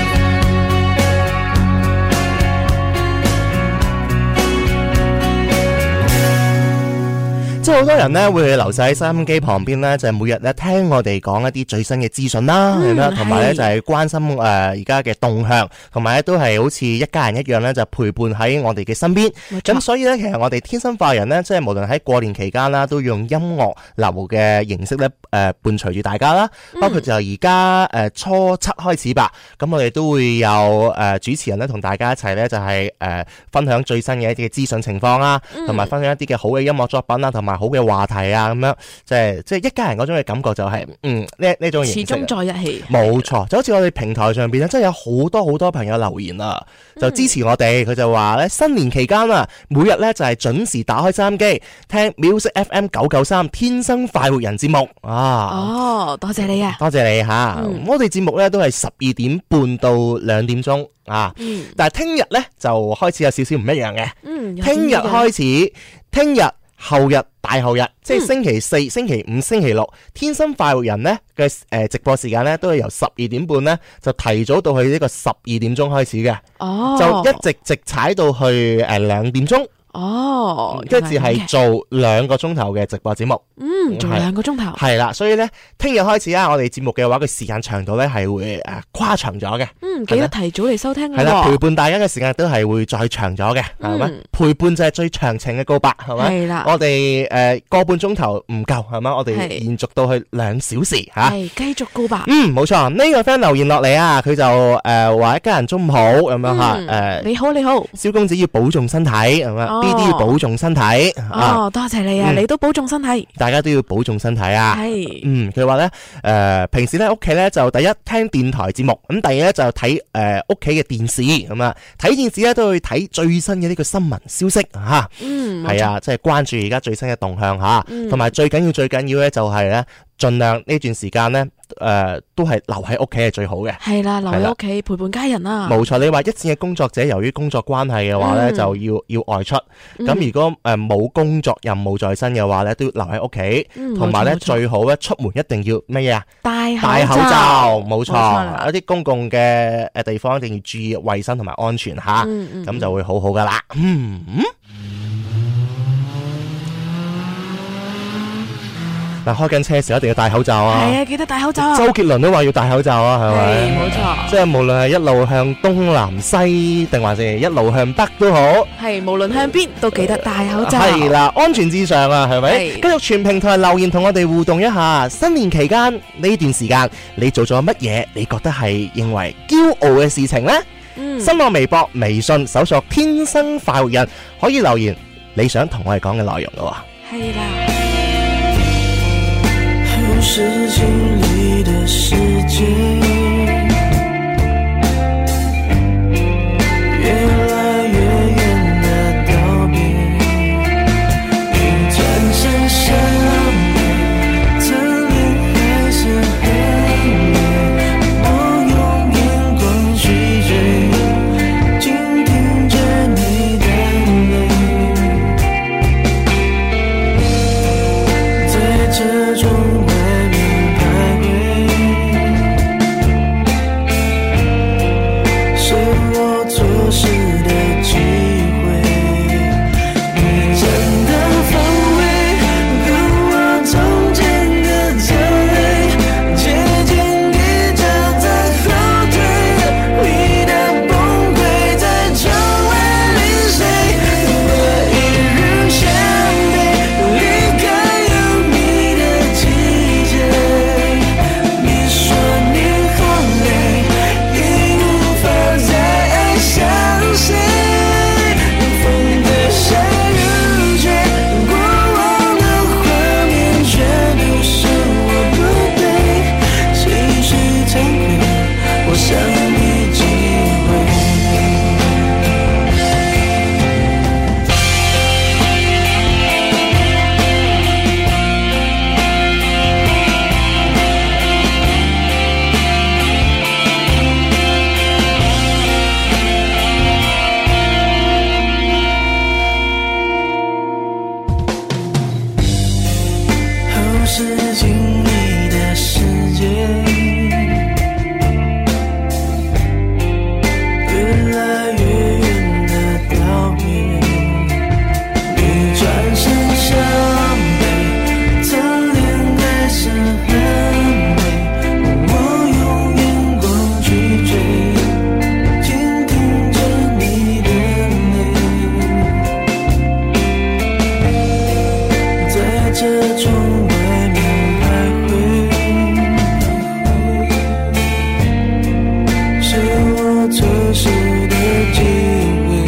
即係好多人咧會留晒喺收音機旁邊咧，就係、每日咧聽我哋講一啲最新嘅資訊啦，係咪？同埋咧就係、係、關心誒而家嘅動向，同埋咧都係好似一家人一樣咧，就陪伴喺我哋嘅身邊。咁所以咧，其實我哋天生化人咧，即係無論喺過年期間啦，都用音樂流嘅形式咧誒、呃、伴隨住大家啦。包括就而家誒初七開始吧，咁我哋都會有誒、呃、主持人咧同大家一齊咧就係、係、誒、呃、分享最新嘅一啲嘅資訊情況啦，同埋分享一啲嘅好嘅音樂作品啦，同埋好嘅話題啊，咁樣即係即係一家人嗰種嘅感覺就係、是、嗯呢呢種形式始終在一起，冇錯，就好似我哋平台上邊咧，真係有好多好多朋友留言啊，就支持我哋，佢、嗯、就話咧新年期間啊，每日咧就係準時打開收音機聽 Music F M 九九三天生快活人節目啊，哦，多謝你啊，多謝你吓、嗯，我哋節目咧都係十二點半到兩點鐘啊、嗯，但係聽日咧就開始有少少唔一樣嘅，嗯，聽日開始，聽日。後日大後日，即係星期四、嗯、星期五、星期六，天生快活人呢嘅誒直播時間呢，都係由十二點半呢就提早到去呢個十二點鐘開始嘅，哦，就一直直踩到去誒兩點鐘。哦，跟住係做兩個鐘頭嘅直播節目，嗯，做兩個鐘頭，係啦，所以咧，聽日開始啊，我哋節目嘅話，個時間長度咧係會誒誇長咗嘅，嗯，記得提早嚟收聽，係啦，陪伴大家嘅時間都係會再長咗嘅，係、嗯、咪？陪伴就係最長情嘅告白，係咪？係啦，我哋誒個半鐘頭唔夠，係咪？我哋延續到去兩小時吓，係繼續告白，嗯，冇錯，呢、這個 friend 留言落嚟啊，佢就誒話、呃、一家人中午好咁樣吓，誒、嗯呃，你好你好，蕭公子要保重身體，係咪？呢啲要保重身體哦、啊，多謝你啊、嗯！你都保重身體，大家都要保重身體啊！係，嗯，佢話咧，誒、呃，平時咧屋企咧就第一聽電台節目，咁第二咧就睇誒屋企嘅電視，咁啊睇電視咧都會睇最新嘅呢個新聞消息吓，嗯，係啊，即係關注而家最新嘅動向吓，同、嗯、埋最緊要最緊要咧就係咧。盡量呢段時間呢，誒、呃，都係留喺屋企係最好嘅。係啦，留喺屋企陪伴家人啦。冇錯，你話一線嘅工作者，由於工作關係嘅話呢、嗯，就要要外出。咁、嗯、如果誒冇、呃、工作任務在身嘅話呢，都要留喺屋企。同埋呢，最好咧出門一定要乜嘢啊？戴口罩。冇錯，一啲公共嘅誒地方一定要注意衛生同埋安全吓，咁、嗯嗯、就會好好噶啦。嗯。嗱，開緊車嘅時候一定要戴口罩啊！係啊，記得戴口罩啊！周杰倫都話要戴口罩啊，係咪？冇錯。即係無論係一路向東南西，定還是一路向北都好。係，無論向邊都記得戴口罩。係啦，安全至上啊，係咪？繼續全平台留言同我哋互動一下。新年期間呢段時間，你做咗乜嘢？你覺得係認為驕傲嘅事情呢？嗯。新浪微博、微信搜索天生快活人，可以留言你想同我哋講嘅內容噶喎。係啦。是經歷的世界越來越遠的道別，一轉身相遇，側臉還是很美，我用眼光去追，靜聽着你的淚，在這種記是經歷的世界，越來越遠的道別，你轉身向北，側臉還是很美，我用眼光去追，傾聽着你的淚，在這窗外面徘徊，是我錯失的機會，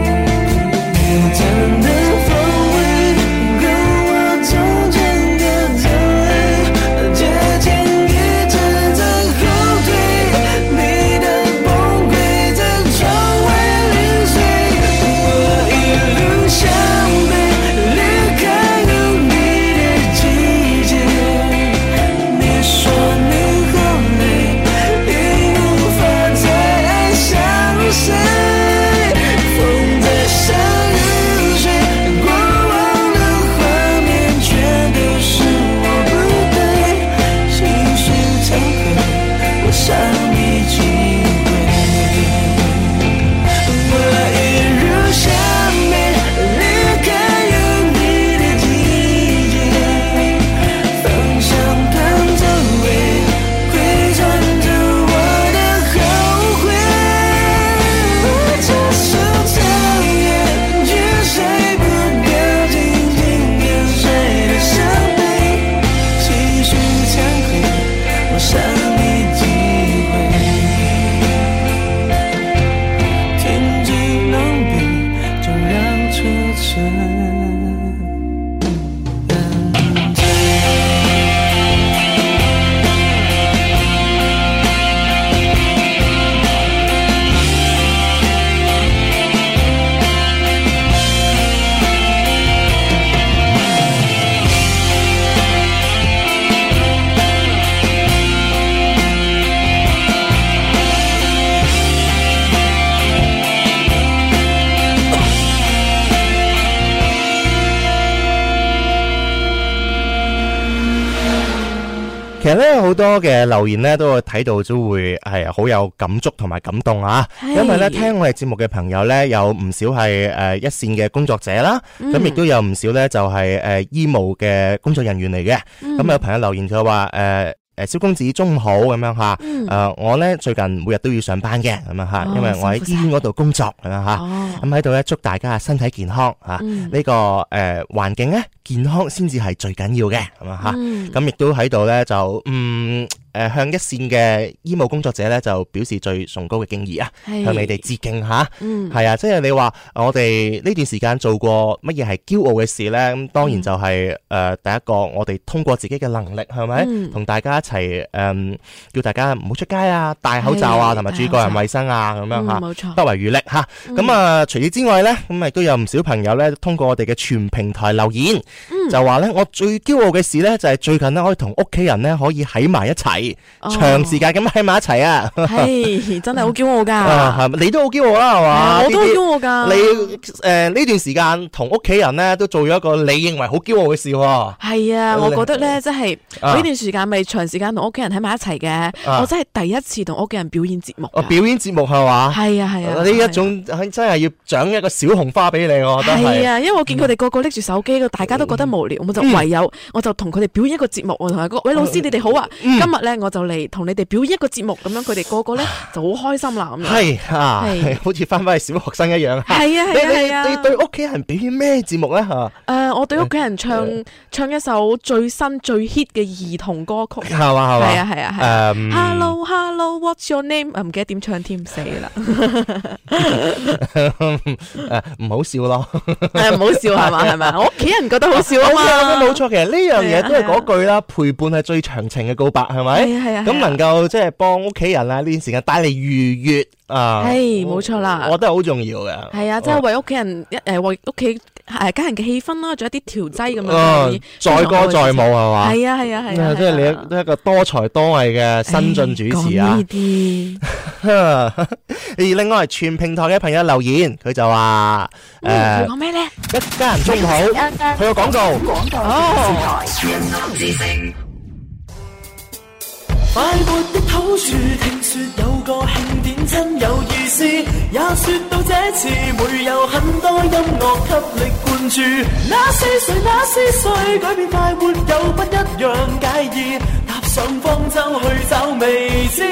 殘的風味跟我從前的滋味，接近一直在後退，你的崩潰在窗外零碎，我一路向北，離開有你的季節，你說你好累，已無法再愛上誰，風在山與水，過往的畫面全都是我不對，情緒慚愧，我傷你幾回，我一路向北，離開有你的季節，方向盤走位，回轉着我的後悔，我這手長遠，卻睡不掉靜靜點睡的傷悲，情緒慚愧，我傷你幾回，天際狼狽，就讓車塵染醉。 其實咧好多嘅留言咧都會睇到都會係好有感觸同埋感動啊！因為咧聽我哋節目嘅朋友咧有唔少係誒一線嘅工作者啦，咁亦都有唔少咧就係誒醫務嘅工作人員嚟嘅。咁有朋友留言就話誒誒蕭公子中午好咁樣吓，誒我咧最近每日都要上班嘅咁樣吓，因為我喺醫院嗰度工作咁樣吓，咁喺度咧祝大家身體健康吓，呢個誒環境咧健康先至係最緊要嘅咁樣吓，咁亦都喺度咧就嗯。誒，向一線嘅醫務工作者咧，就表示最崇高嘅敬意啊！向你哋致敬吓，嗯，係啊，即係你話我哋呢段時間做過乜嘢係驕傲嘅事咧？咁當然就係、是、誒、呃，第一個我哋通過自己嘅能力，係咪同大家一齊誒、呃，叫大家唔好出街啊，戴口罩啊，同埋注意個人衛生啊，咁樣吓，冇錯，不遺餘力吓。咁啊，除此之外咧，咁亦都有唔少朋友咧，通過我哋嘅全平台留言，嗯、就話咧，我最驕傲嘅事咧，就係最近咧可以同屋企人咧可以喺埋一齊。長時間咁喺埋一齊啊， 係真係好驕傲噶， 係咪？你都好驕傲啦，係嘛？ 我都好驕傲噶。 你誒呢段時間同屋企人咧都做咗一個你認為好驕傲嘅事喎。 係啊，我覺得咧，即係呢段時間咪長時間同屋企人喺埋一齊嘅，我真係第一次同屋企人表演節目。表演節目係嘛？係啊係啊，呢一種真係要獎一個小紅花俾你，我覺得係啊，因為我見佢哋個個拎住手機，大家都覺得無聊，我就唯有我就同佢哋表演一個節目，我同佢講：喂，老師你哋好啊，今日咧我就嚟同你哋表演一個節目，咁樣佢哋個個咧就好開心啦，咁樣係啊，係好似翻返去小學生一樣。係啊係啊係啊！你對屋企人表演咩節目咧？吓誒，我對屋企人唱唱一首最新最 hit 嘅兒童歌曲，係嘛係嘛？係啊係啊係。誒 ，Hello Hello，What's your name？唔記得點唱添，死啦！誒，唔好笑咯，係唔好笑係嘛係咪？我屋企人覺得好笑啊嘛，冇錯。其實呢樣嘢都係嗰句啦，陪伴係最長情嘅告白，係咪？係啊係啊。咁能夠即係幫屋企人啊呢段時間帶嚟愉悅啊，係冇錯啦，我覺得好重要嘅。係啊，即係為屋企人一誒為屋企誒家人嘅氣氛啦，仲有啲調劑咁樣。 哦，載歌載舞係嘛？ 係啊係啊係啊！ 即係你都係一個多才多藝嘅新晉主持啊！ 講呢啲。 而另外全平台嘅朋友留言，佢就話誒， 佢講咩咧？ 一家人中午好，佢個廣告。 廣告哦。 快活的好處，聽說有個慶典真有意思，也說到這次會有很多音樂給力灌注。那是誰？那是誰？改變快活有不一樣介意，踏上方舟去找未知。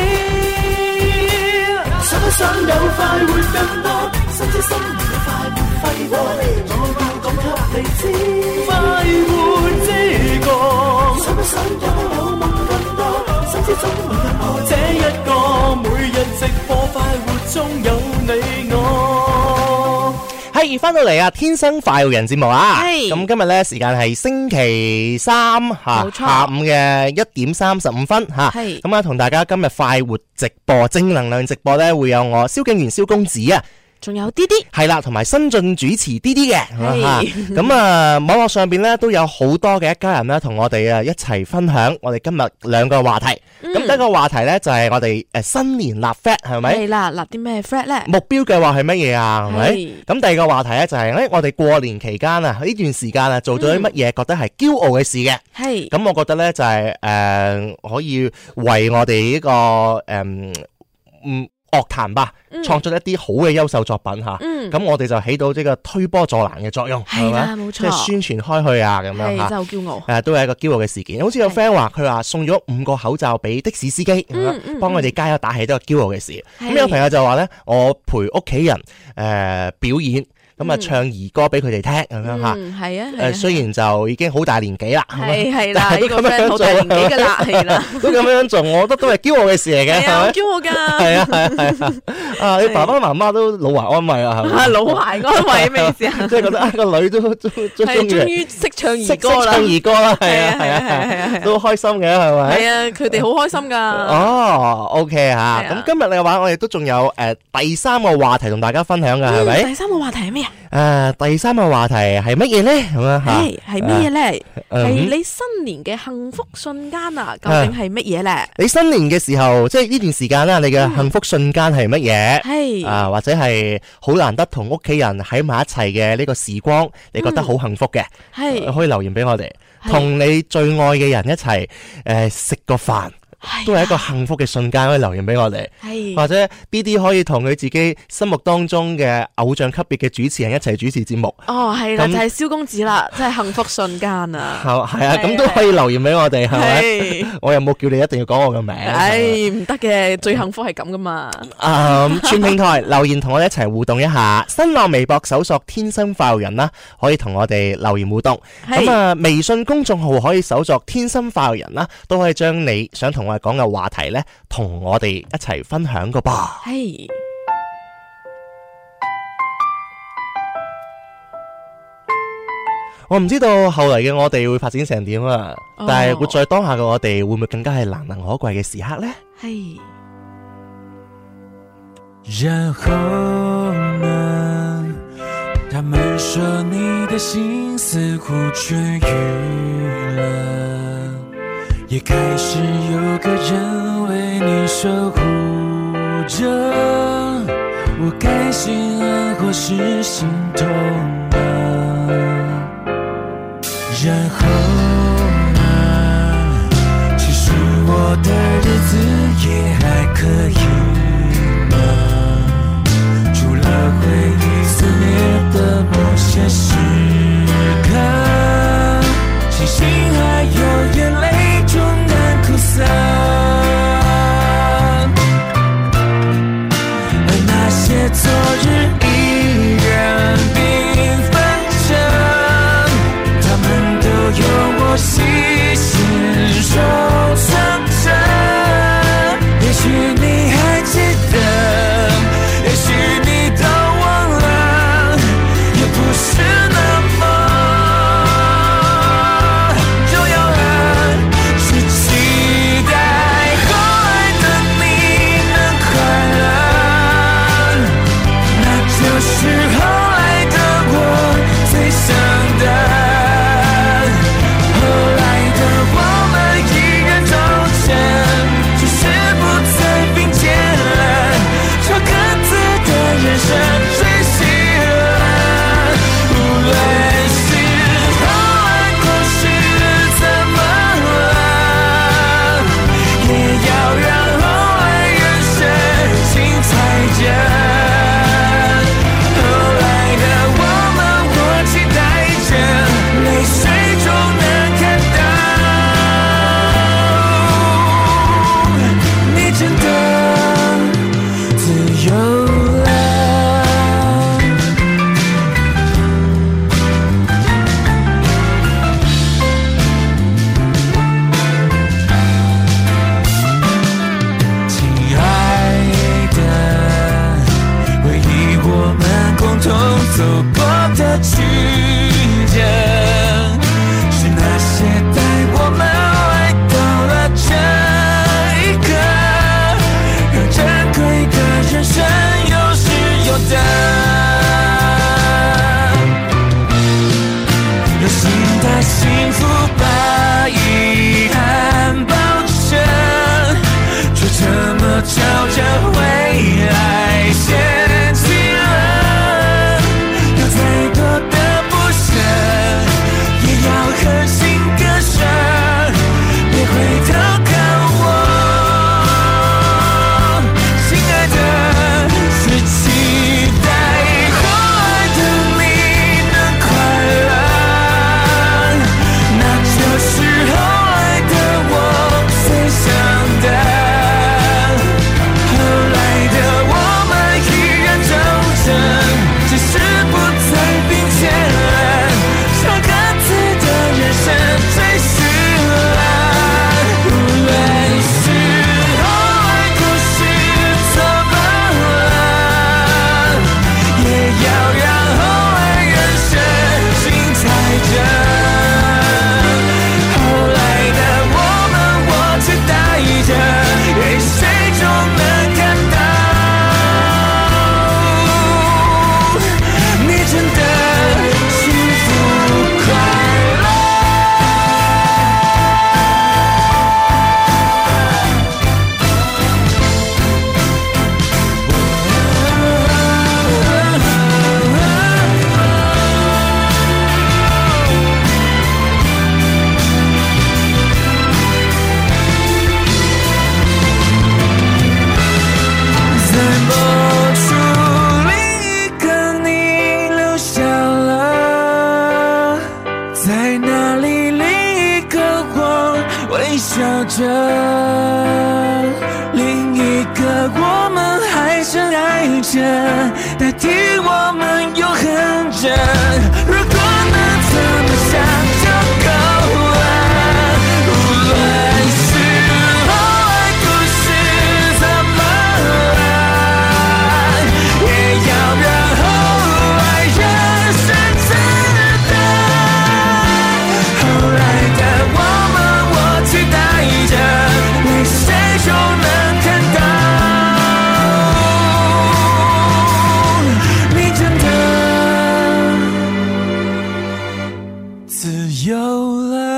想不想有快活更多？甚至心裏有快活揮霍，我要講給你知。快活之歌，想不想有有夢更多？甚至總會有我這一個，每日直播快活中有你我。 係翻到嚟啊！天生快活人節目啊！咁今日咧時間係星期三吓下午嘅一點三十五分吓。咁啊，同大家今日快活直播正能量直播咧，會有我蕭敬元蕭公子啊。 仲有啲啲係啦，同埋新晉主持啲啲嘅，咁啊網絡上邊咧都有好多嘅一家人咧，同我哋啊一齊分享我哋今日兩個話題。咁、嗯、第一個話題咧就係、是、我哋誒新年立 flag 係咪？係啦， 立啲咩 flag 咧？ 目標計劃係乜嘢啊？係咪？咁第二個話題咧就係、是、誒我哋過年期間啊呢段時間啊做咗啲乜嘢覺得係驕傲嘅事嘅？係、嗯。咁我覺得咧就係、是、誒、呃、可以為我哋呢、這個誒嗯。樂壇吧，創作一啲好嘅優秀作品吓，咁、嗯、我哋就起到呢個推波助瀾嘅作用，係咪？冇錯，即係宣傳開去啊，咁樣吓，真係好驕傲。誒，都係一個驕傲嘅事件。好似有 friend 話，佢話送咗五個口罩俾的士司機，幫佢哋加油打氣，都係驕傲嘅事。咁有朋友就話咧，我陪屋企人誒、呃、表演。咁啊，唱兒歌俾佢哋聽咁樣吓，係啊，誒，雖然就已經好大年紀啦，係係啦，呢個 friend 好大年紀噶啦，係啦，都咁樣做，我覺得都係驕傲嘅事嚟嘅，係咪？驕傲噶，係啊係啊係啊，啊，你爸爸媽媽都老懷安慰啊，係咪？老懷安慰咩意思啊？即係覺得啊個女都都都中意，終於識唱兒歌啦，識唱兒歌啦，係啊係啊係啊，都開心嘅係咪？係啊，佢哋好開心噶。哦 ，OK 吓，咁今日嘅話，我哋都仲有誒第三個話題同大家分享噶，係咪？第三個話題係咩啊？誒、呃，第三個話題係乜嘢咧？咁樣吓，係係乜嘢咧？係你新年嘅幸福瞬間啊？究竟係乜嘢咧？你新年嘅時候，即係呢段時間啦，你嘅幸福瞬間係乜嘢？係、嗯、啊，或者係好難得同屋企人喺埋一齊嘅呢個時光，你覺得好幸福嘅？係、嗯、可以留言俾我哋，同你最愛嘅人一齊誒食個飯。都係一個幸福嘅瞬間，可以留言俾我哋，或者 B D 可以同佢自己心目當中嘅偶像級別嘅主持人一齊主持節目。哦，係啦，就係蕭公子啦，真係幸福瞬間啊！係啊，咁都可以留言俾我哋，係咪？我又冇叫你一定要講我嘅名。唉，唔得嘅，最幸福係咁噶嘛。嗯，全平台留言同我哋一齊互動一下，新浪微博搜索天生快活人啦，可以同我哋留言互動。咁啊，微信公眾號可以搜索天生快活人啦，都可以將你想同我哋講嘅話題咧，同我哋一齊分享個噃。係，我唔知道後嚟嘅我哋會發展成點啊！哦、但係活在當下嘅我哋，會唔會更加係難能可貴嘅時刻咧？係。然後呢？他們說你的心似乎痊癒了，也開始有個人為你守護着，我該心安或是心痛啊？然後呢？其實我的日子也還可以嗎？除了回憶撕裂的某些時刻，星星還有眼淚終難哭散，而那些昨日依然繽紛着，他們都有我細心收藏着。也許你還記得，也許你都忘了，也不是那麼是後來的我最深笑着，另一个我们还相爱着，代替我们永恒着。如果能这么想就够了，无论是后来故事怎么烂，也要让后来人生知道，后来的我们我期待着，为谁就能看到你真的自由了。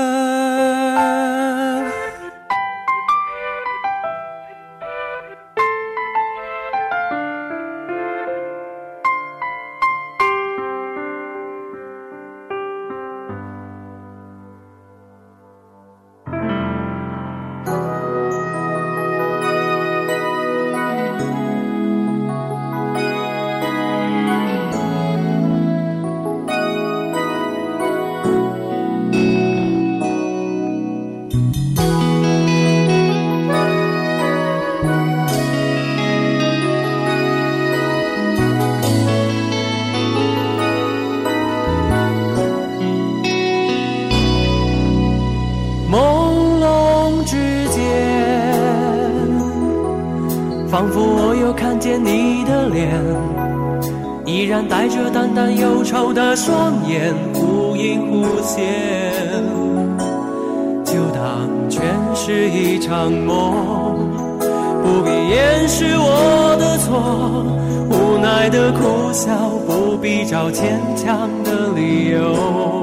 仿佛我又看见你的脸，依然带着淡淡忧愁的双眼，忽隐忽现，就当全是一场梦，不必掩饰我的错，无奈的苦笑，不必找坚强的理由，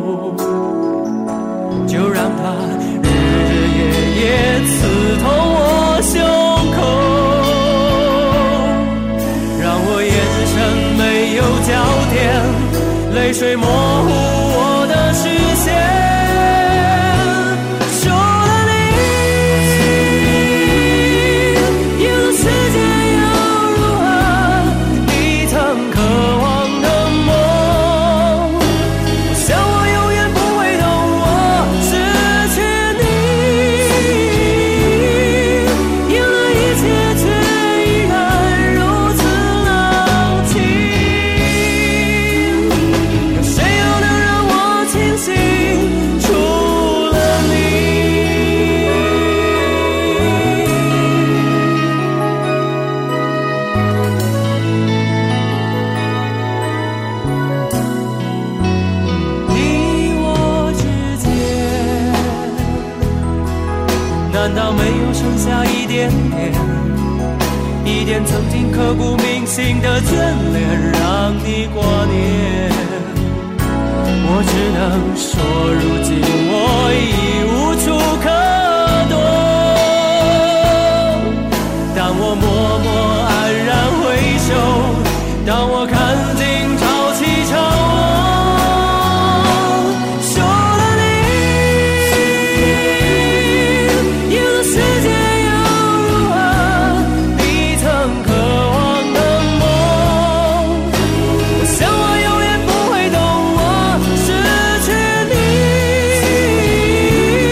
就让它日日夜夜刺痛我胸口，没有焦点，泪水模糊我的视线。除了你，有了世界又如何？你曾渴望的梦，我想我永远不会懂，我失去你，有了一切却依然如此冷清。难道没有剩下一点点，一点曾经刻骨铭心的眷恋，让你挂念？我只能说，如今我已无处可躲。当我默默安然回首，当我看尽潮起潮落，说了你，有了世界又如何？你曾渴望的梦，我想我永远不会懂，我失去你。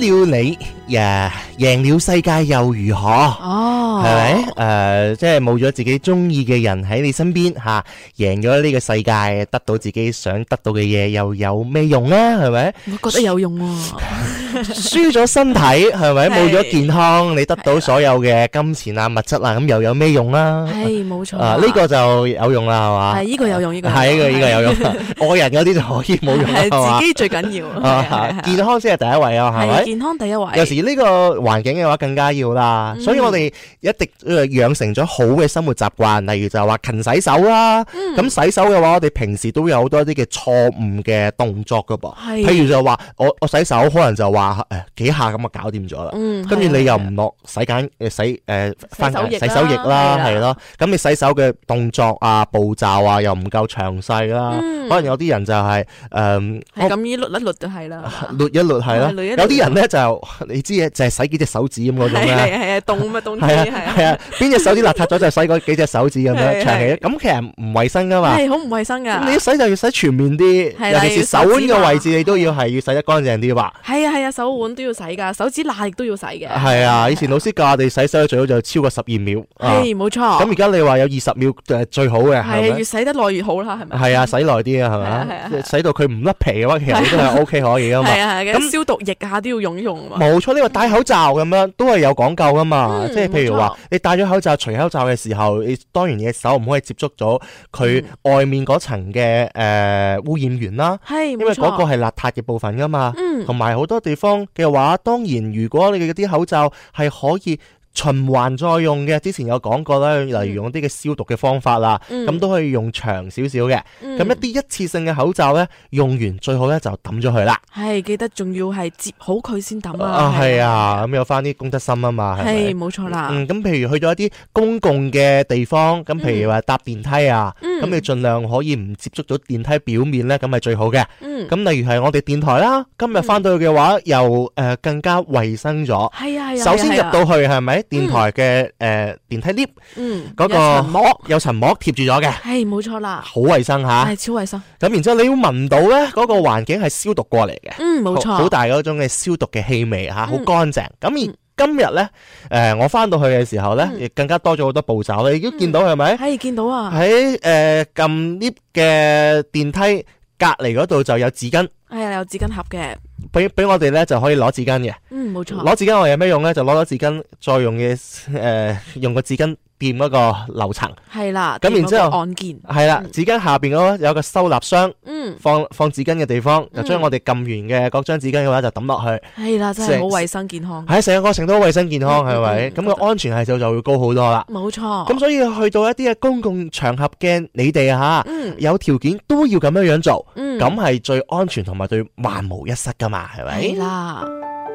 了你，呀，贏了世界又如何？哦，係咪？誒、呃，即係冇咗自己中意嘅人喺你身邊吓、啊，贏咗呢個世界，得到自己想得到嘅嘢，又有咩用咧？係咪？ 我覺得有用喎、啊。 輸咗身體係咪？冇咗健康，你得到所有嘅金錢啊、物質啊，咁又有咩用啦？係冇錯啊，呢、這個就有用啦，係嘛？係呢、這個有用，呢、這個係呢、這個呢、這個有用。愛人嗰啲就可以冇用啦，係自己最緊要。啊、健康先係第一位啊，係咪？健康第一位。有時呢個環境嘅話更加要啦，嗯、所以我哋一定養成咗好嘅生活習慣，例如就係話勤洗手啦。咁、嗯、洗手嘅話，我哋平時都有好多啲嘅錯誤嘅動作噶噃。譬如就話我我洗手可能就話。誒，幾下咁就搞掂咗啦，跟住你又唔落洗簡誒洗誒翻洗手液啦，係咯，咁你洗手嘅動作啊步驟啊又唔夠詳細啦，可能有啲人就係誒係咁依捋一捋就係啦，捋一捋係咯，有啲人咧就你知嘅就係洗幾隻手指咁嗰種咧，係係啊凍啊凍係啊係啊，邊隻手指邋遢咗就洗嗰幾隻手指咁樣長期，咁其實唔衛生噶嘛，係好唔衛生噶，你一洗就要洗全面啲，尤其是手腕嘅位置你都要係要洗得乾淨啲吧，係啊係啊。手腕都要洗噶，手指罅亦都要洗嘅。係啊，以前老師教我哋洗手最好就超過十二秒。係冇錯。咁而家你話有二十秒誒最好嘅。係越洗得耐越好啦，係咪？係啊，洗耐啲啊，係咪？洗到佢唔甩皮嘅話，其實都係 O K 可以噶嘛。係啊係。咁消毒液下都要用一用。冇錯，呢個戴口罩咁樣都係有講究噶嘛。即係譬如話，你戴咗口罩、除口罩嘅時候，你當然你嘅手唔可以接觸咗佢外面嗰層嘅誒污染源啦。係，因為嗰個係邋遢嘅部分噶嘛。嗯。同埋好多地方嘅話，當然如果你嘅啲口罩係可以循環再用嘅，之前有講過啦，例如用啲嘅消毒嘅方法啦，咁、嗯、都可以用長少少嘅。咁、嗯、一啲一次性嘅口罩咧，用完最好咧就抌咗佢啦。係，記得仲要係摺好佢先抌啊。啊，係啊，咁有翻啲公德心啊嘛。係，冇錯啦。嗯，咁譬如去咗一啲公共嘅地方，咁譬如話搭電梯啊，咁、嗯、你盡量可以唔接觸到電梯表面咧，咁係最好嘅。嗯。咁例如係我哋電台啦，今日翻到去嘅話，又誒、呃、更加衛生咗。係啊係啊。首先入到去係咪？電台嘅誒、嗯呃、電梯 lift，嗯，嗰、那個膜有層膜貼住咗嘅，係冇錯啦，好衛生吓，係超衛生。咁然之後你要聞到咧，嗰、那個環境係消毒過嚟嘅，嗯，冇錯，好大嗰種嘅消毒嘅氣味吓，好乾淨。咁、嗯、而今日咧，誒、呃、我翻到去嘅時候咧，亦、嗯、更加多咗好多步驟。你都見到係咪？係、嗯、見到啊，喺誒撳 lift 嘅電梯隔籬嗰度就有紙巾。係啊，有紙巾盒嘅，俾俾我哋咧就可以攞紙巾嘅。嗯，冇錯。攞紙巾我有咩用咧？就攞咗紙巾，再用嘅誒、呃，用個紙巾掂嗰個樓層。係啦。咁然之後按鍵。係啦，紙巾下邊嗰個有個收納箱。嗯。放放紙巾嘅地方，就將我哋撳完嘅嗰張紙巾嘅話就抌落去。係啦，真係好衛生健康。係成個過程都好衛生健康，係咪？咁、嗯、個安全係數就會高好多啦。冇錯。咁所以去到一啲嘅公共場合嘅你哋吓、嗯，有條件都要咁樣樣做。嗯。咁係最安全同埋對萬無一失噶嘛，係咪？係啦。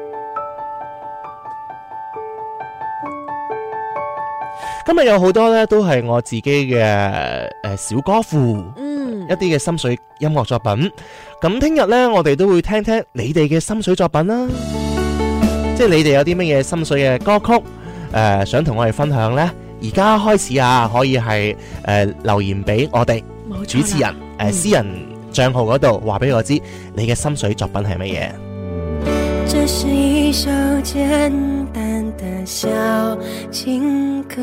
今日有好多咧，都係我自己嘅誒小歌庫，嗯，一啲嘅心水音樂作品。咁聽日咧，我哋都會聽聽你哋嘅心水作品啦。即係你哋有啲乜嘢心水嘅歌曲，誒、呃，想同我哋分享咧？而家開始啊，可以係誒、呃、留言俾我哋主持人誒、呃、私人賬號嗰度，話俾我知你嘅心水作品係乜嘢。 這是一首簡單的小情歌，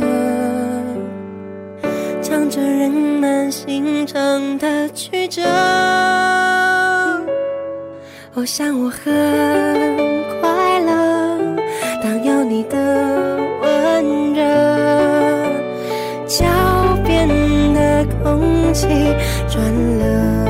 唱着人們心腸的曲折。我想我很快樂，當有你的溫熱，腳邊的空氣轉了。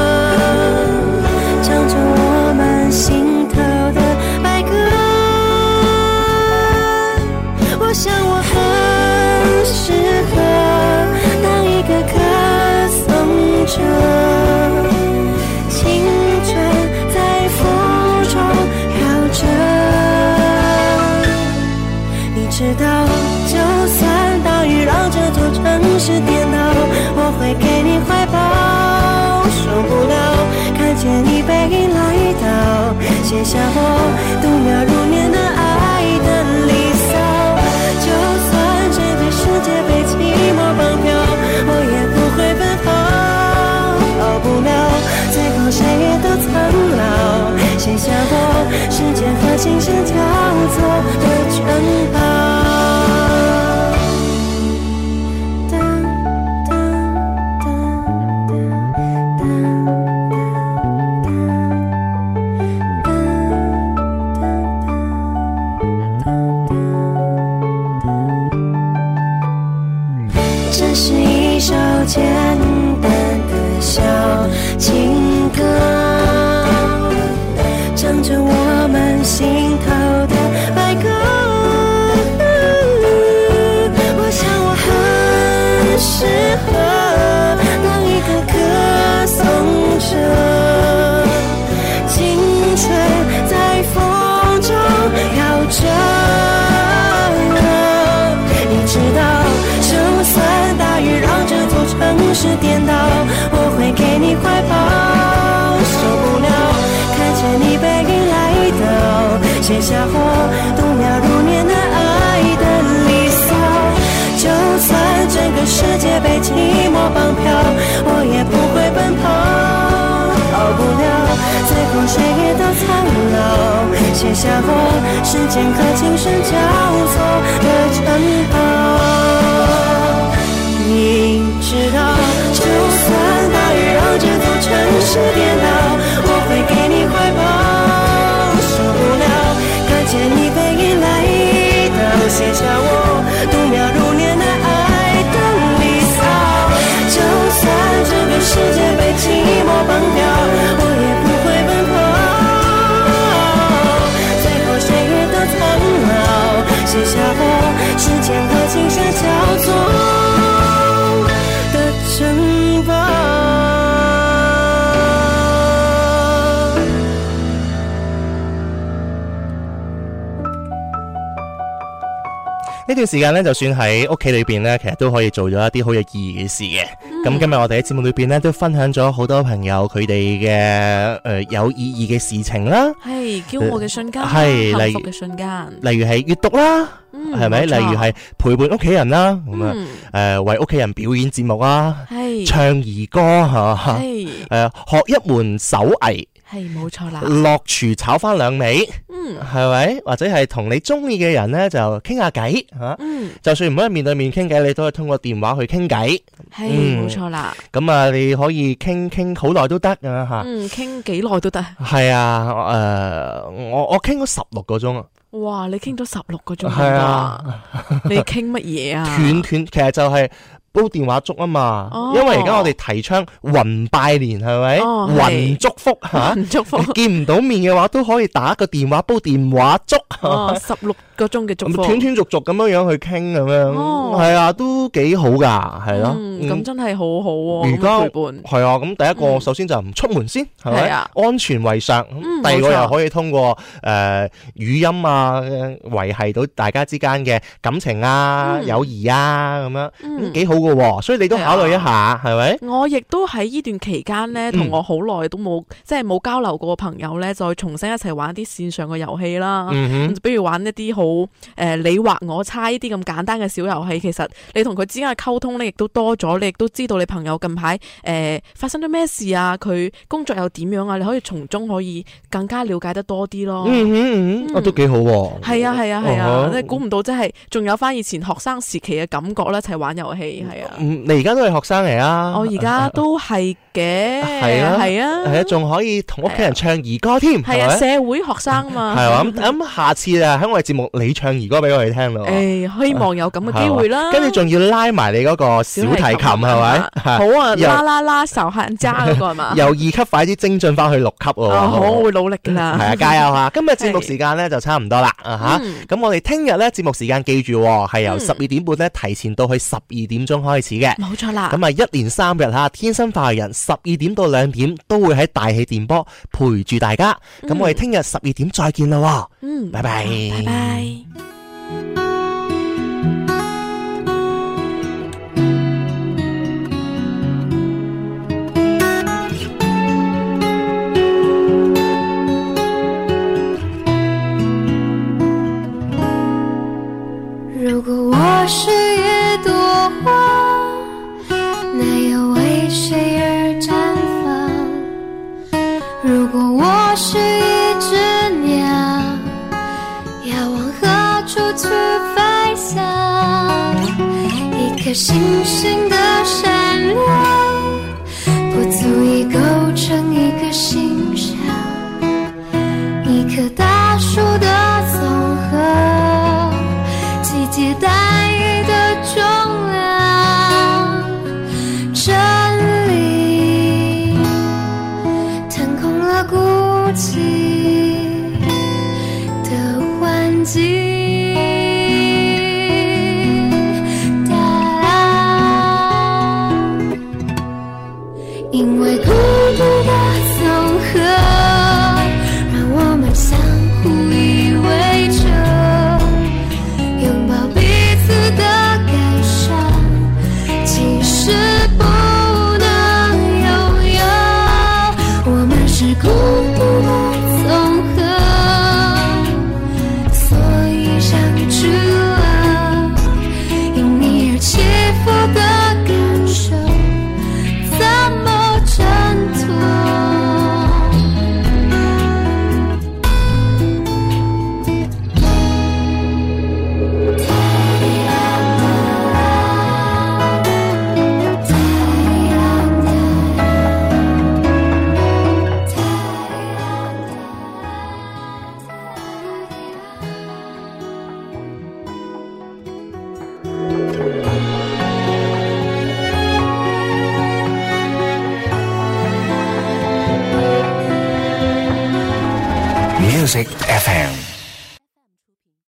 唱着我們心頭的愛歌。 写下我度秒如年的爱的离骚。就算整个世界被寂寞绑票，我也不会奔跑，跑不了，最后谁也都苍老。写下我时间和琴声交错的城堡。这是一首简单的小情歌，唱着我们心头的白鸽。我想我很适合当一个歌颂者，青春在风中飘着。你知道，就算大雨让这座城市颠倒，我会给你怀抱。受不了看见你背影来到，写下我度秒如年的爱的离骚。就算整个世界被寂寞绑票，我也不会奔跑，跑不了，最后谁也都苍老。写下我时间和琴声交错的城堡。你知道，就算大雨让这座城市颠倒，我会给你怀抱。受不了看见你背影来到，写下我度秒如年的爱的离骚。就算整个世界被寂寞绑票，我也不会奔跑，最后谁也都苍老。写下我时间和琴声交错城堡。 呢段時間咧，就算喺屋企裏邊咧，其實都可以做咗一啲好有意義嘅事嘅。咁、嗯、今日我哋喺節目裏邊咧，都分享咗好多朋友佢哋嘅誒有意義嘅事情啦， 係驕傲嘅瞬間， 係幸福嘅瞬間， 例如係閱讀啦。係咪？例如係陪伴屋企人啦，咁啊，誒為屋企人表演節目啊，唱兒歌嚇，誒學一門手藝， 係冇錯啦。 落廚炒翻兩味，嗯，係咪？或者係同你中意嘅人咧就傾下偈嚇，嗯，就算唔可以面對面傾偈，你都可以通過電話去傾偈， 係冇錯啦。咁啊，你可以傾傾好耐都得啊嚇， 嗯，傾幾耐都得。 係啊，誒我我傾咗十六個鐘啊！ 哇！你傾咗十六個鐘啊！你傾乜嘢啊？ 斷斷，其實就係煲電話粥啊嘛，哦、因為而家我哋提倡雲拜年係咪？雲、哦、祝福嚇，雲祝福見唔到面嘅話都可以打個電話煲電話粥。 哦，十六個鐘嘅祝福， 斷斷續續咁樣樣去傾咁樣，哦，係啊，都幾好噶，係咯。 咁、嗯、真係好好喎， 而家陪伴係啊。咁第一個、嗯、首先就唔出門先，係咪？啊，安全為上。嗯、第二個又可以通過誒、呃、語音啊，維繫到大家之間嘅感情啊、嗯、友誼啊咁樣，嗯，幾好噶喎。所以你都考慮一下，係咪、啊？ 我亦都喺呢段期間咧，同我好耐都冇即係冇交流過嘅朋友咧，再重新一齊玩啲線上嘅遊戲啦。嗯比如玩一啲好誒你畫我猜呢啲咁簡單嘅小遊戲，其實你同佢之間嘅溝通咧，亦都多咗，你亦都知道你朋友近排誒、呃、發生咗咩事啊，佢工作又點樣啊，你可以從中可以更加了解得多啲咯。 嗯嗯嗯，啊都幾好喎。 係啊係啊係啊，你估唔到真係仲有翻以前學生時期嘅感覺咧，一齊玩遊戲係啊。 嗯，你而家都係學生嚟啊？ 我而家都係嘅，係啊係啊， 係啊，仲可以同屋企人唱兒歌添， 係啊，社會學生嘛。 係啊，咁咁下次啊喺我哋節目你唱兒歌俾我哋聽咯。 誒，希望有咁嘅機會啦。 跟住仲要拉埋你嗰個小提琴係咪？ 好啊，啦啦啦仇恨家嗰個係嘛？ 由二級快啲精進翻去六級喎。 好，我會努力噶啦。 係啊，加油嚇！今日節目時間咧就差唔多啦啊嚇。咁我哋聽日咧節目時間記住係由十二點半咧提前到去十二點鐘開始嘅。 冇錯啦。 咁啊一連三日嚇，天生化人十二點到兩點都會喺大氣電波陪住大家。咁我哋聽日十二點再見啦。嗯，拜拜。 拜拜。 颗星星的闪亮，不足以构成一个欣赏，一棵大树的总和，季节带予的重量，真理腾空了孤寂的环境。因为孤独的总和，让我们相互依偎着，拥抱彼此的感伤，其实不能拥有。我们是孤独的总和，所以相聚了，因你而起伏的感受，怎么 Music F M